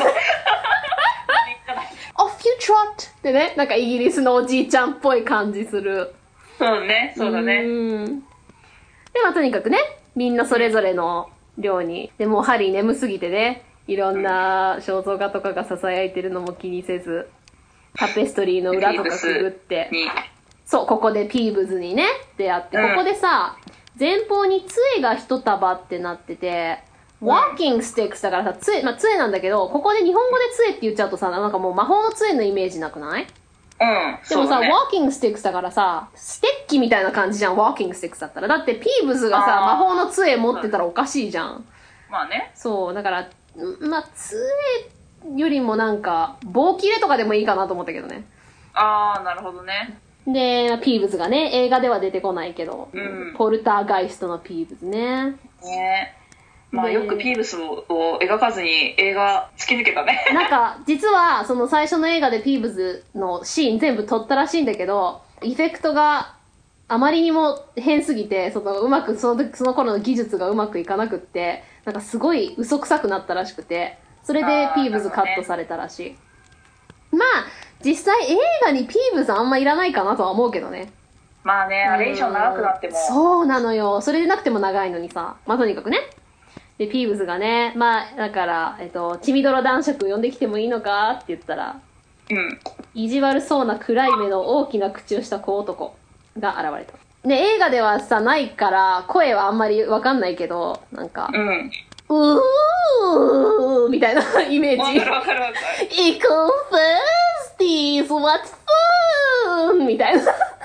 you trot ってね、なんかイギリスのおじいちゃんっぽい感じする。 そうね、そうだね。 うんで、まあとにかくね、みんなそれぞれの寮に、でもうハリー眠すぎてね、いろんな肖像画とかが囁いてるのも気にせず、タペストリーの裏とかくぐって、そう、ここでピーブズにね、出会って、うん、ここでさ、前方に杖が一束ってなってて、walking sticks だからさ、杖、まあ杖なんだけど、ここで日本語で杖って言っちゃうとさ、なんかもう魔法の杖のイメージなくない？ うん。 でもさ、 ね、 walking sticks だからさ、ステッキみたいな感じじゃん、walking sticks だったら。だってピーブズがさ、魔法の杖持ってたらおかしいじゃん。 まあね。 そう、だから、まあ、杖よりもなんか、棒切れとかでもいいかなと思ったけどね。 あー、なるほどね。 で、ピーブズがね、映画では出てこないけど、 うん、 ポルターガイストのピーブズね。 ね、まあよくピーブスを描かずに映画突き抜けたね。 なんか、実はその最初の映画でピーブズのシーン全部撮ったらしいんだけど、エフェクトがあまりにも変すぎて、そのうまく、その時、その頃の技術がうまくいかなくって、なんかすごい嘘くさくなったらしくて、それでピーブズカットされたらしい。まあ、実際映画にピーブズあんまいらないかなとは思うけどね。 まあね、あれ以上長くなっても。 そうなのよ。それでなくても長いのにさ。まあとにかくね。で、ピーブズがね、まあ、だから、えっと、血みどろ男爵呼んできてもいいのかって言ったら、 うん。 意地悪そうな暗い目の大きな口をした小男が現れた。で、映画ではさ、ないから、声はあんまりわかんないけど、なんか、 うん。 うーみたいなイメージ。 わかるわかるわかる。 行こうファースティーズ what fun みたいな。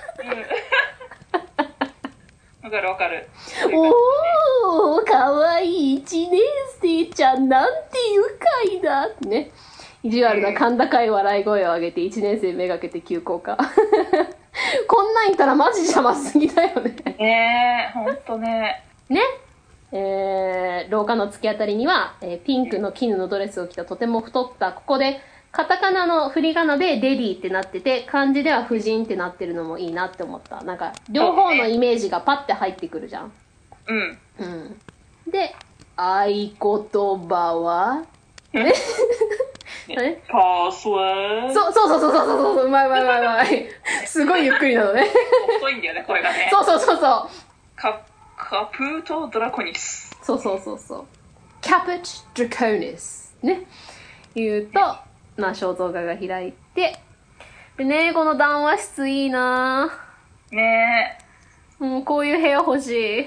わかるわかる。 おー、かわいい一年生ちゃん、なんて愉快だってね。意地悪な甲高い笑い声を上げて一年生めがけて急降下。こんなんいたらマジ邪魔すぎだよね。 ねえ、ほんとね。 ね。えー、廊下の突き当たりには、えー、ピンクの絹のドレスを着たとても太った、ここでカタカナの振り仮名でレディーってなってて、漢字では婦人ってなってるのもいいなって思った。なんか両方のイメージがパッて入ってくるじゃん。 うん。 うん。で、合言葉はねね、パスワード。 そうそうそうそうそうそう、うまいうまいうまいうまい。すごいゆっくりなのね。 細いんだよね、これがね。 そうそうそうそう。 カカプート・ドラコニス。 そうそうそうそう。カプチ・ドラコニス。ね。言うと、まあ、肖像画が開いて。でね、この談話室いいなぁ。 ねえ。もうこういう部屋欲しい。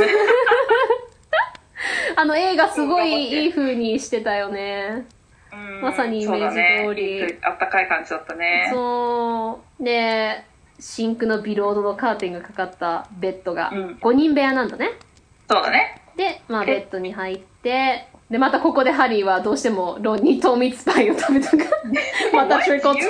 あの映画すごいいい風にしてたよね。まさにイメージ通り、 ね、あったかい感じだったね。 そうで、シンクのビロードのカーテンがかかったベッドがごにん部屋なんだね、うん、 そうだね。 で、まあ、ベッドに入ってで、またここでハリーはどうしてもロンに糖蜜パイを食べたからまた trickle tart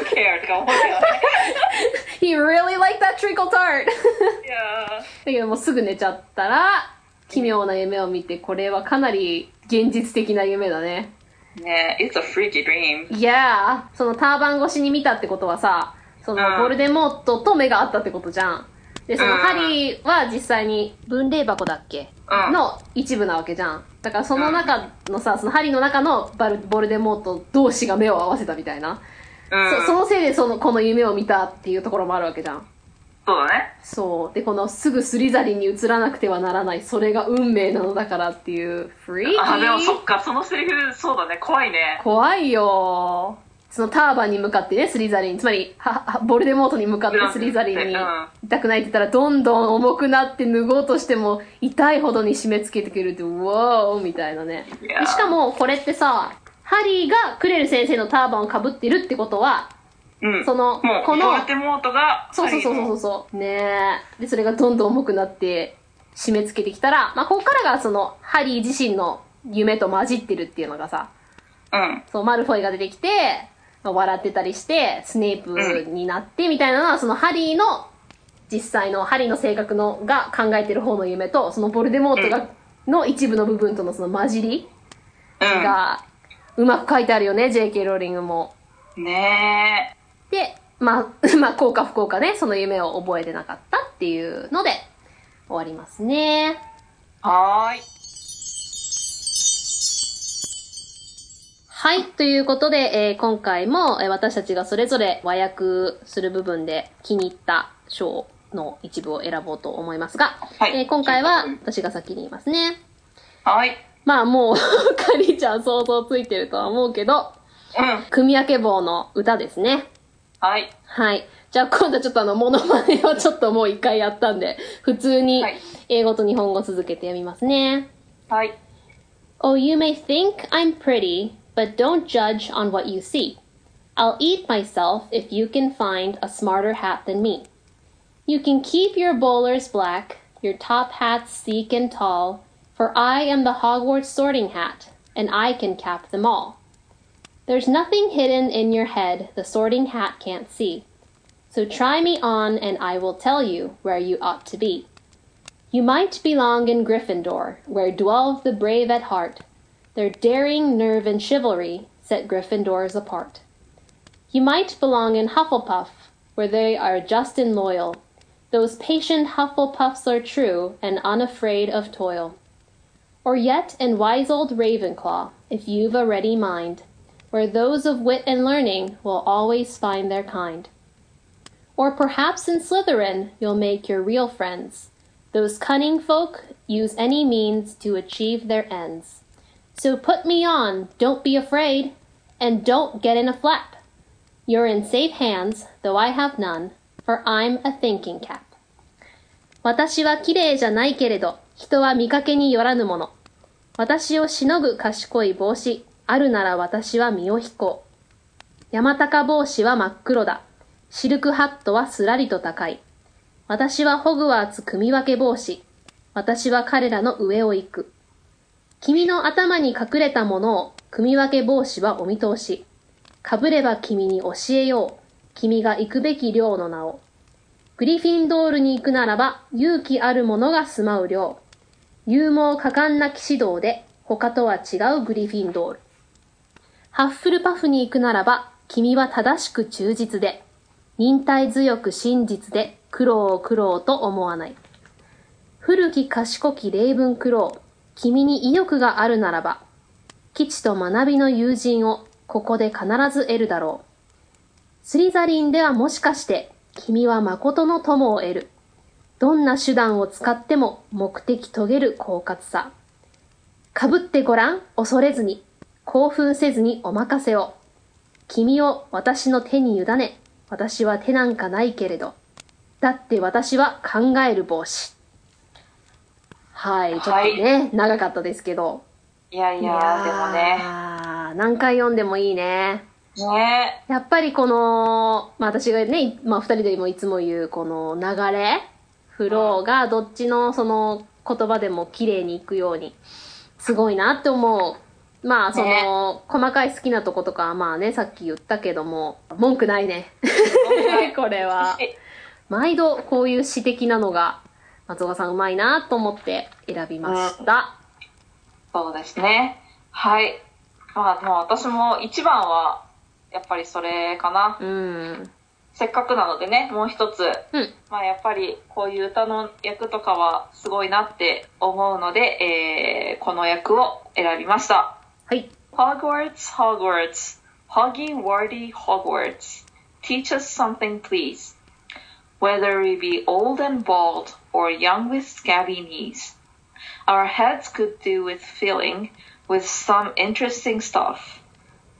He really liked that trickle tart だけどもうすぐ寝ちゃったら奇妙な夢を見て、これはかなり現実的な夢だね。 ねえ、It's a freaky dream. Yeah. そのターバン越しに見たってことはさ、そのボルデモートと目があったってことじゃん。で、そのハリーは実際に分霊箱だっけ、うん、の一部なわけじゃん。だからその中のさ、そのハリーの中のバルボルデモート同士が目を合わせたみたいな。うん、そ, そのせいでそのこの夢を見たっていうところもあるわけじゃん。 そうだね。 そう。で、このすぐスリザリンに移らなくてはならない、それが運命なのだからっていう、フリーキー。 あ、でもそっか、そのセリフ、そうだね、怖いね。 怖いよ。 そのターバンに向かってね、スリザリン、つまりははボルデモートに向かってスリザリンに痛くないって言ったら、どんどん重くなって脱ごうとしても痛いほどに締め付けてくるって、うわーみたいなね。でしかもこれってさ、ハリーがクレル先生のターバンをかぶってるってことは、 うん、 そのこのボルデモートがそうそうそうそうそうねえでそれがどんどん重くなって締め付けてきたら、まあ、ここからがそのハリー自身の夢と混じってるっていうのがさ、 うん、 そうマルフォイが出てきて、まあ、笑ってたりしてスネープになってみたいなのは、うん、そのハリーの実際のハリーの性格のが考えてる方の夢とそのボルデモートが、うん、の一部の部分とのその混じりがうまく書いてあるよね、 ジェイケー ローリングもねえ。 で、まあ、まあ、幸か不幸かね、その夢を覚えてなかったっていうので、終わりますね。 はーい。 はい、ということで、えー、今回も、えー、私たちがそれぞれ和訳する部分で気に入った章の一部を選ぼうと思いますが、はい、えー、今回は私が先に言いますね。 はい。 まあ、もう、かりちゃん想像ついてるとは思うけど、 うん。 組み分け棒の歌ですね。 はい。 はい。じゃあ今度はちょっとあの、モノマネをちょっともう一回やったんで、普通に英語と日本語続けて読みますね。 はい。 Oh, you may think I'm pretty, but don't judge on what you see. I'll eat myself if you can find a smarter hat than me. You can keep your bowlers black, your top hats sleek and tall, for I am the Hogwarts sorting hat, and I can cap them all.There's nothing hidden in your head the sorting hat can't see. So try me on and I will tell you where you ought to be. You might belong in Gryffindor, where dwell the brave at heart. Their daring, nerve, and chivalry set Gryffindors apart. You might belong in Hufflepuff, where they are just and loyal. Those patient Hufflepuffs are true and unafraid of toil. Or yet in wise old Ravenclaw, if you've a ready mind,where those of wit and learning will always find their kind. Or perhaps in Slytherin you'll make your real friends. Those cunning folk use any means to achieve their ends. So put me on, don't be afraid, and don't get in a flap. You're in safe hands, though I have none, for I'm a thinking cap. 私は綺麗じゃないけれど、人は見かけによらぬもの。私をしのぐ賢い帽子。あるなら私は身を引こう。山高帽子は真っ黒だ。シルクハットはすらりと高い。私はホグワーツ組み分け帽子。私は彼らの上を行く。君の頭に隠れたものを組み分け帽子はお見通し。かぶれば君に教えよう。君が行くべき寮の名を。グリフィンドールに行くならば勇気ある者が住まう寮。勇猛果敢な騎士道で他とは違うグリフィンドール。ハッフルパフに行くならば、君は正しく忠実で、忍耐強く真実で、苦労を苦労と思わない。古き賢きレイブンクロー、君に意欲があるならば、基地と学びの友人をここで必ず得るだろう。スリザリンではもしかして、君は誠の友を得る。どんな手段を使っても目的遂げる狡猾さ。かぶってごらん、恐れずに。興奮せずにお任せを。君を私の手に委ね、私は手なんかないけれど。だって私は考える帽子。はい、ちょっとね、はい、長かったですけど。 いやいや、いやでもね。 何回読んでもいいね。 ねやっぱりこの、まあ私がね、まあ二人でもいつも言うこの流れ、フローがどっちのその言葉でも綺麗にいくように、すごいなって思う。まあその、ね、細かい好きなとことかはまあねさっき言ったけども文句ないねこれは毎度こういう詩的なのが松岡さんうまいなと思って選びました、 うん、そうですねはいまあもう私も一番はやっぱりそれかな、 うん、 せっかくなのでねもう一つ、 うん、 まあやっぱりこういう歌の役とかはすごいなって思うので、えー、この役を選びましたはい。 Hogwarts, Hogwarts, Hoggy Warty Hogwarts, teach us something please, whether we be old and bald or young with scabby knees. Our heads could do with filling with some interesting stuff,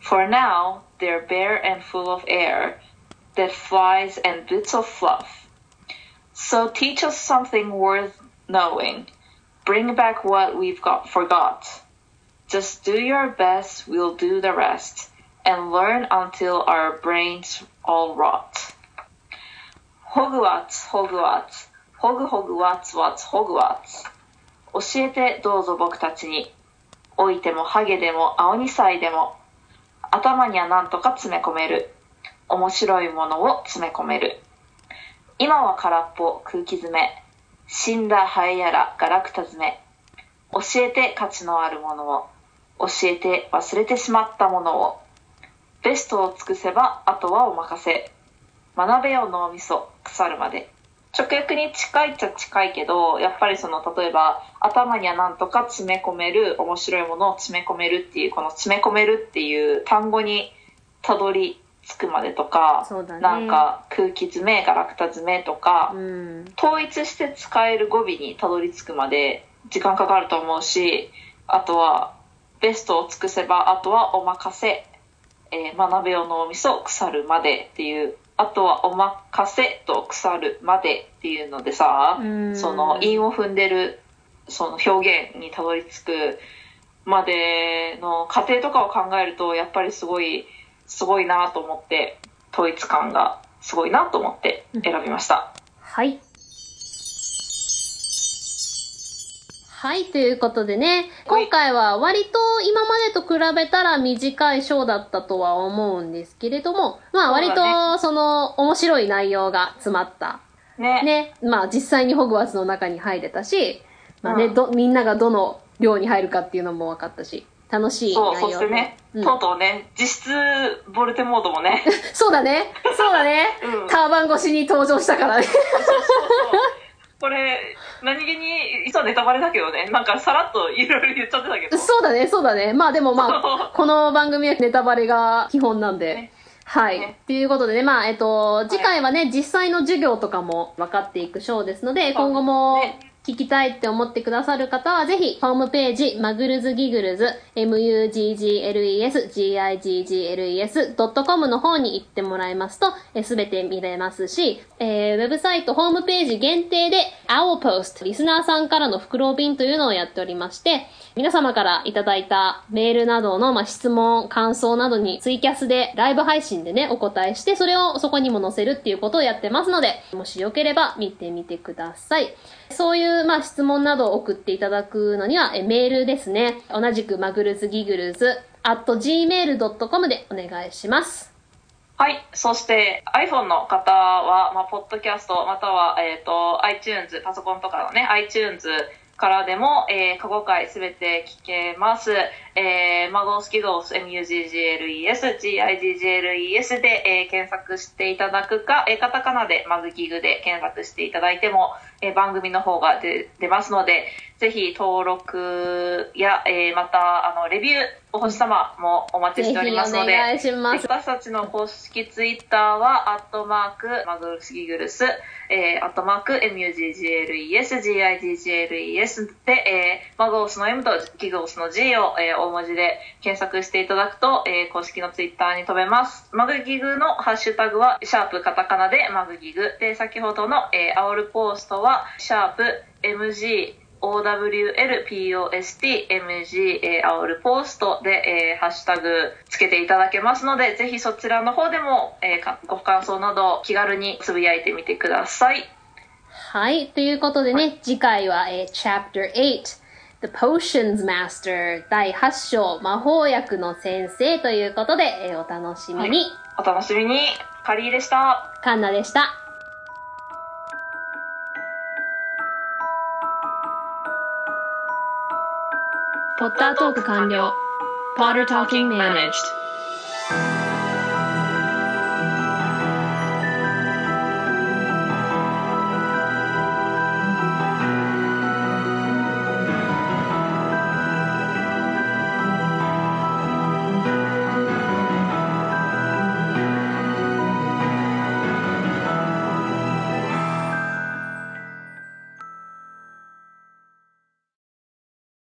For now, they're bare and full of air, dead flies and bits of fluff. So teach us something worth knowing. Bring back what we've got forgot. Just do your best, we'll do the rest, and learn until our brains all rot. Hogwarts, Hogwarts, Hog Hogwarts, What's Hogwarts. 教えてどうぞ僕たちに。老いてもハゲでも青に歳でも。頭にはなんとか詰め込める。面白いものを詰め込める。今は空っぽ空気詰め。死んだハエやらガラクタ詰め。教えて価値のあるものを。教えて忘れてしまったものを。ベストを尽くせばあとはお任せ。学べよ脳みそ腐るまで。直訳に近いっちゃ近いけど、やっぱりその例えば頭にはなんとか詰め込める、面白いものを詰め込めるっていう、この詰め込めるっていう単語にたどり着くまでとか、 そうだね、 なんか空気詰めガラクタ詰めとか、 うん、 統一して使える語尾にたどり着くまで時間かかると思うし、あとはベストを尽くせばあとはお任せ、えー、学べよ脳みそ腐るまでっていう、あとはお任せと腐るまでっていうのでさ、その韻を踏んでるその表現にたどり着くまでの過程とかを考えると、やっぱりすごいすごいなと思って、統一感がすごいなと思って選びました。 はい。はい、ということでね、今回は割と今までと比べたら短いショーだったとは思うんですけれども、まあ割とその面白い内容が詰まった。 ね。 ね。まあ実際にホグワーツの中に入れたし、まあね、 うん、 ど、みんながどの寮に入るかっていうのも分かったし、楽しい内容。 そう、そしてね、うん、とうとうね、実質ボルテモードもね。 そうだね、そうだね。うん、ターバン越しに登場したからね。そうそうそう。 これ、何気に、実はネタバレだけどね、なんかさらっといろいろ言っちゃってたけど。 そうだね、そうだね。まあでもまあ、この番組はネタバレが基本なんで。ね、はい。ね、ということでね、まあ、えっと、次回はね、はい、実際の授業とかも分かっていくショーですので、今後も聞きたいって思ってくださる方は、ぜひ、ホームページ、マグルズギグルズ、エムユージージーエルイーエス、ジーアイジージーエルイーエス ドットコム の方に行ってもらいますと、すべて見れますし、えー、ウェブサイト、ホームページ限定で、Owl Post、リスナーさんからの袋便というのをやっておりまして、皆様からいただいたメールなどの、まあ、質問、感想などにツイキャスでライブ配信でね、お答えして、それをそこにも載せるっていうことをやってますので、もしよければ見てみてください。そういう、まあ、質問などを送っていただくのには、えメールですね。同じくマグルズギグルズ、アットジーメールドットコム でお願いします。 はい。そして iPhone の方は、まあ、ポッドキャストまたは、えっと、iTunes、パソコンとかのね、iTunes からでも、えー、過去回すべて聞けます。えー、マゴースキドース、エムユージージーエルイーエス、ジーアイジージーエルイーエス で、えー、検索していただくか、えー、カタカナでマグギグで検索していただいても、えー、番組の方が出、出ますので、ぜひ登録や、えー、また、あの、レビュー、お星様もお待ちしておりますので、 ぜひお願いします。 私たちの公式ツイッターは、アットマーク、マグルスギグルス、えー、アットマーク、エムユージージーエルイーエス、ジーアイジージーエルイーエス で、えー、マゴースの M とギゴースの G を、えー、大文字で検索していただくと、えー、公式のツイッターに飛べます。マグギグのハッシュタグは、シャープカタカナでマグギグ。で、先ほどの、えー、アオルポーストは、シャープ エムジー、オーダブリューエルピーオーエスティーエムジー、えー、アオルポーストで、えー、ハッシュタグつけていただけますので、ぜひそちらの方でも、えー、ご感想など気軽につぶやいてみてください。 はい。ということでね、はい、次回は、えー、チャプターエイト、The Potions Master だいはち章、魔法薬の先生ということで、えー、お楽しみに。はい、 お楽しみに。カリーでした。 カンナでした。 ポッタートーク完了。Potter Talking Managed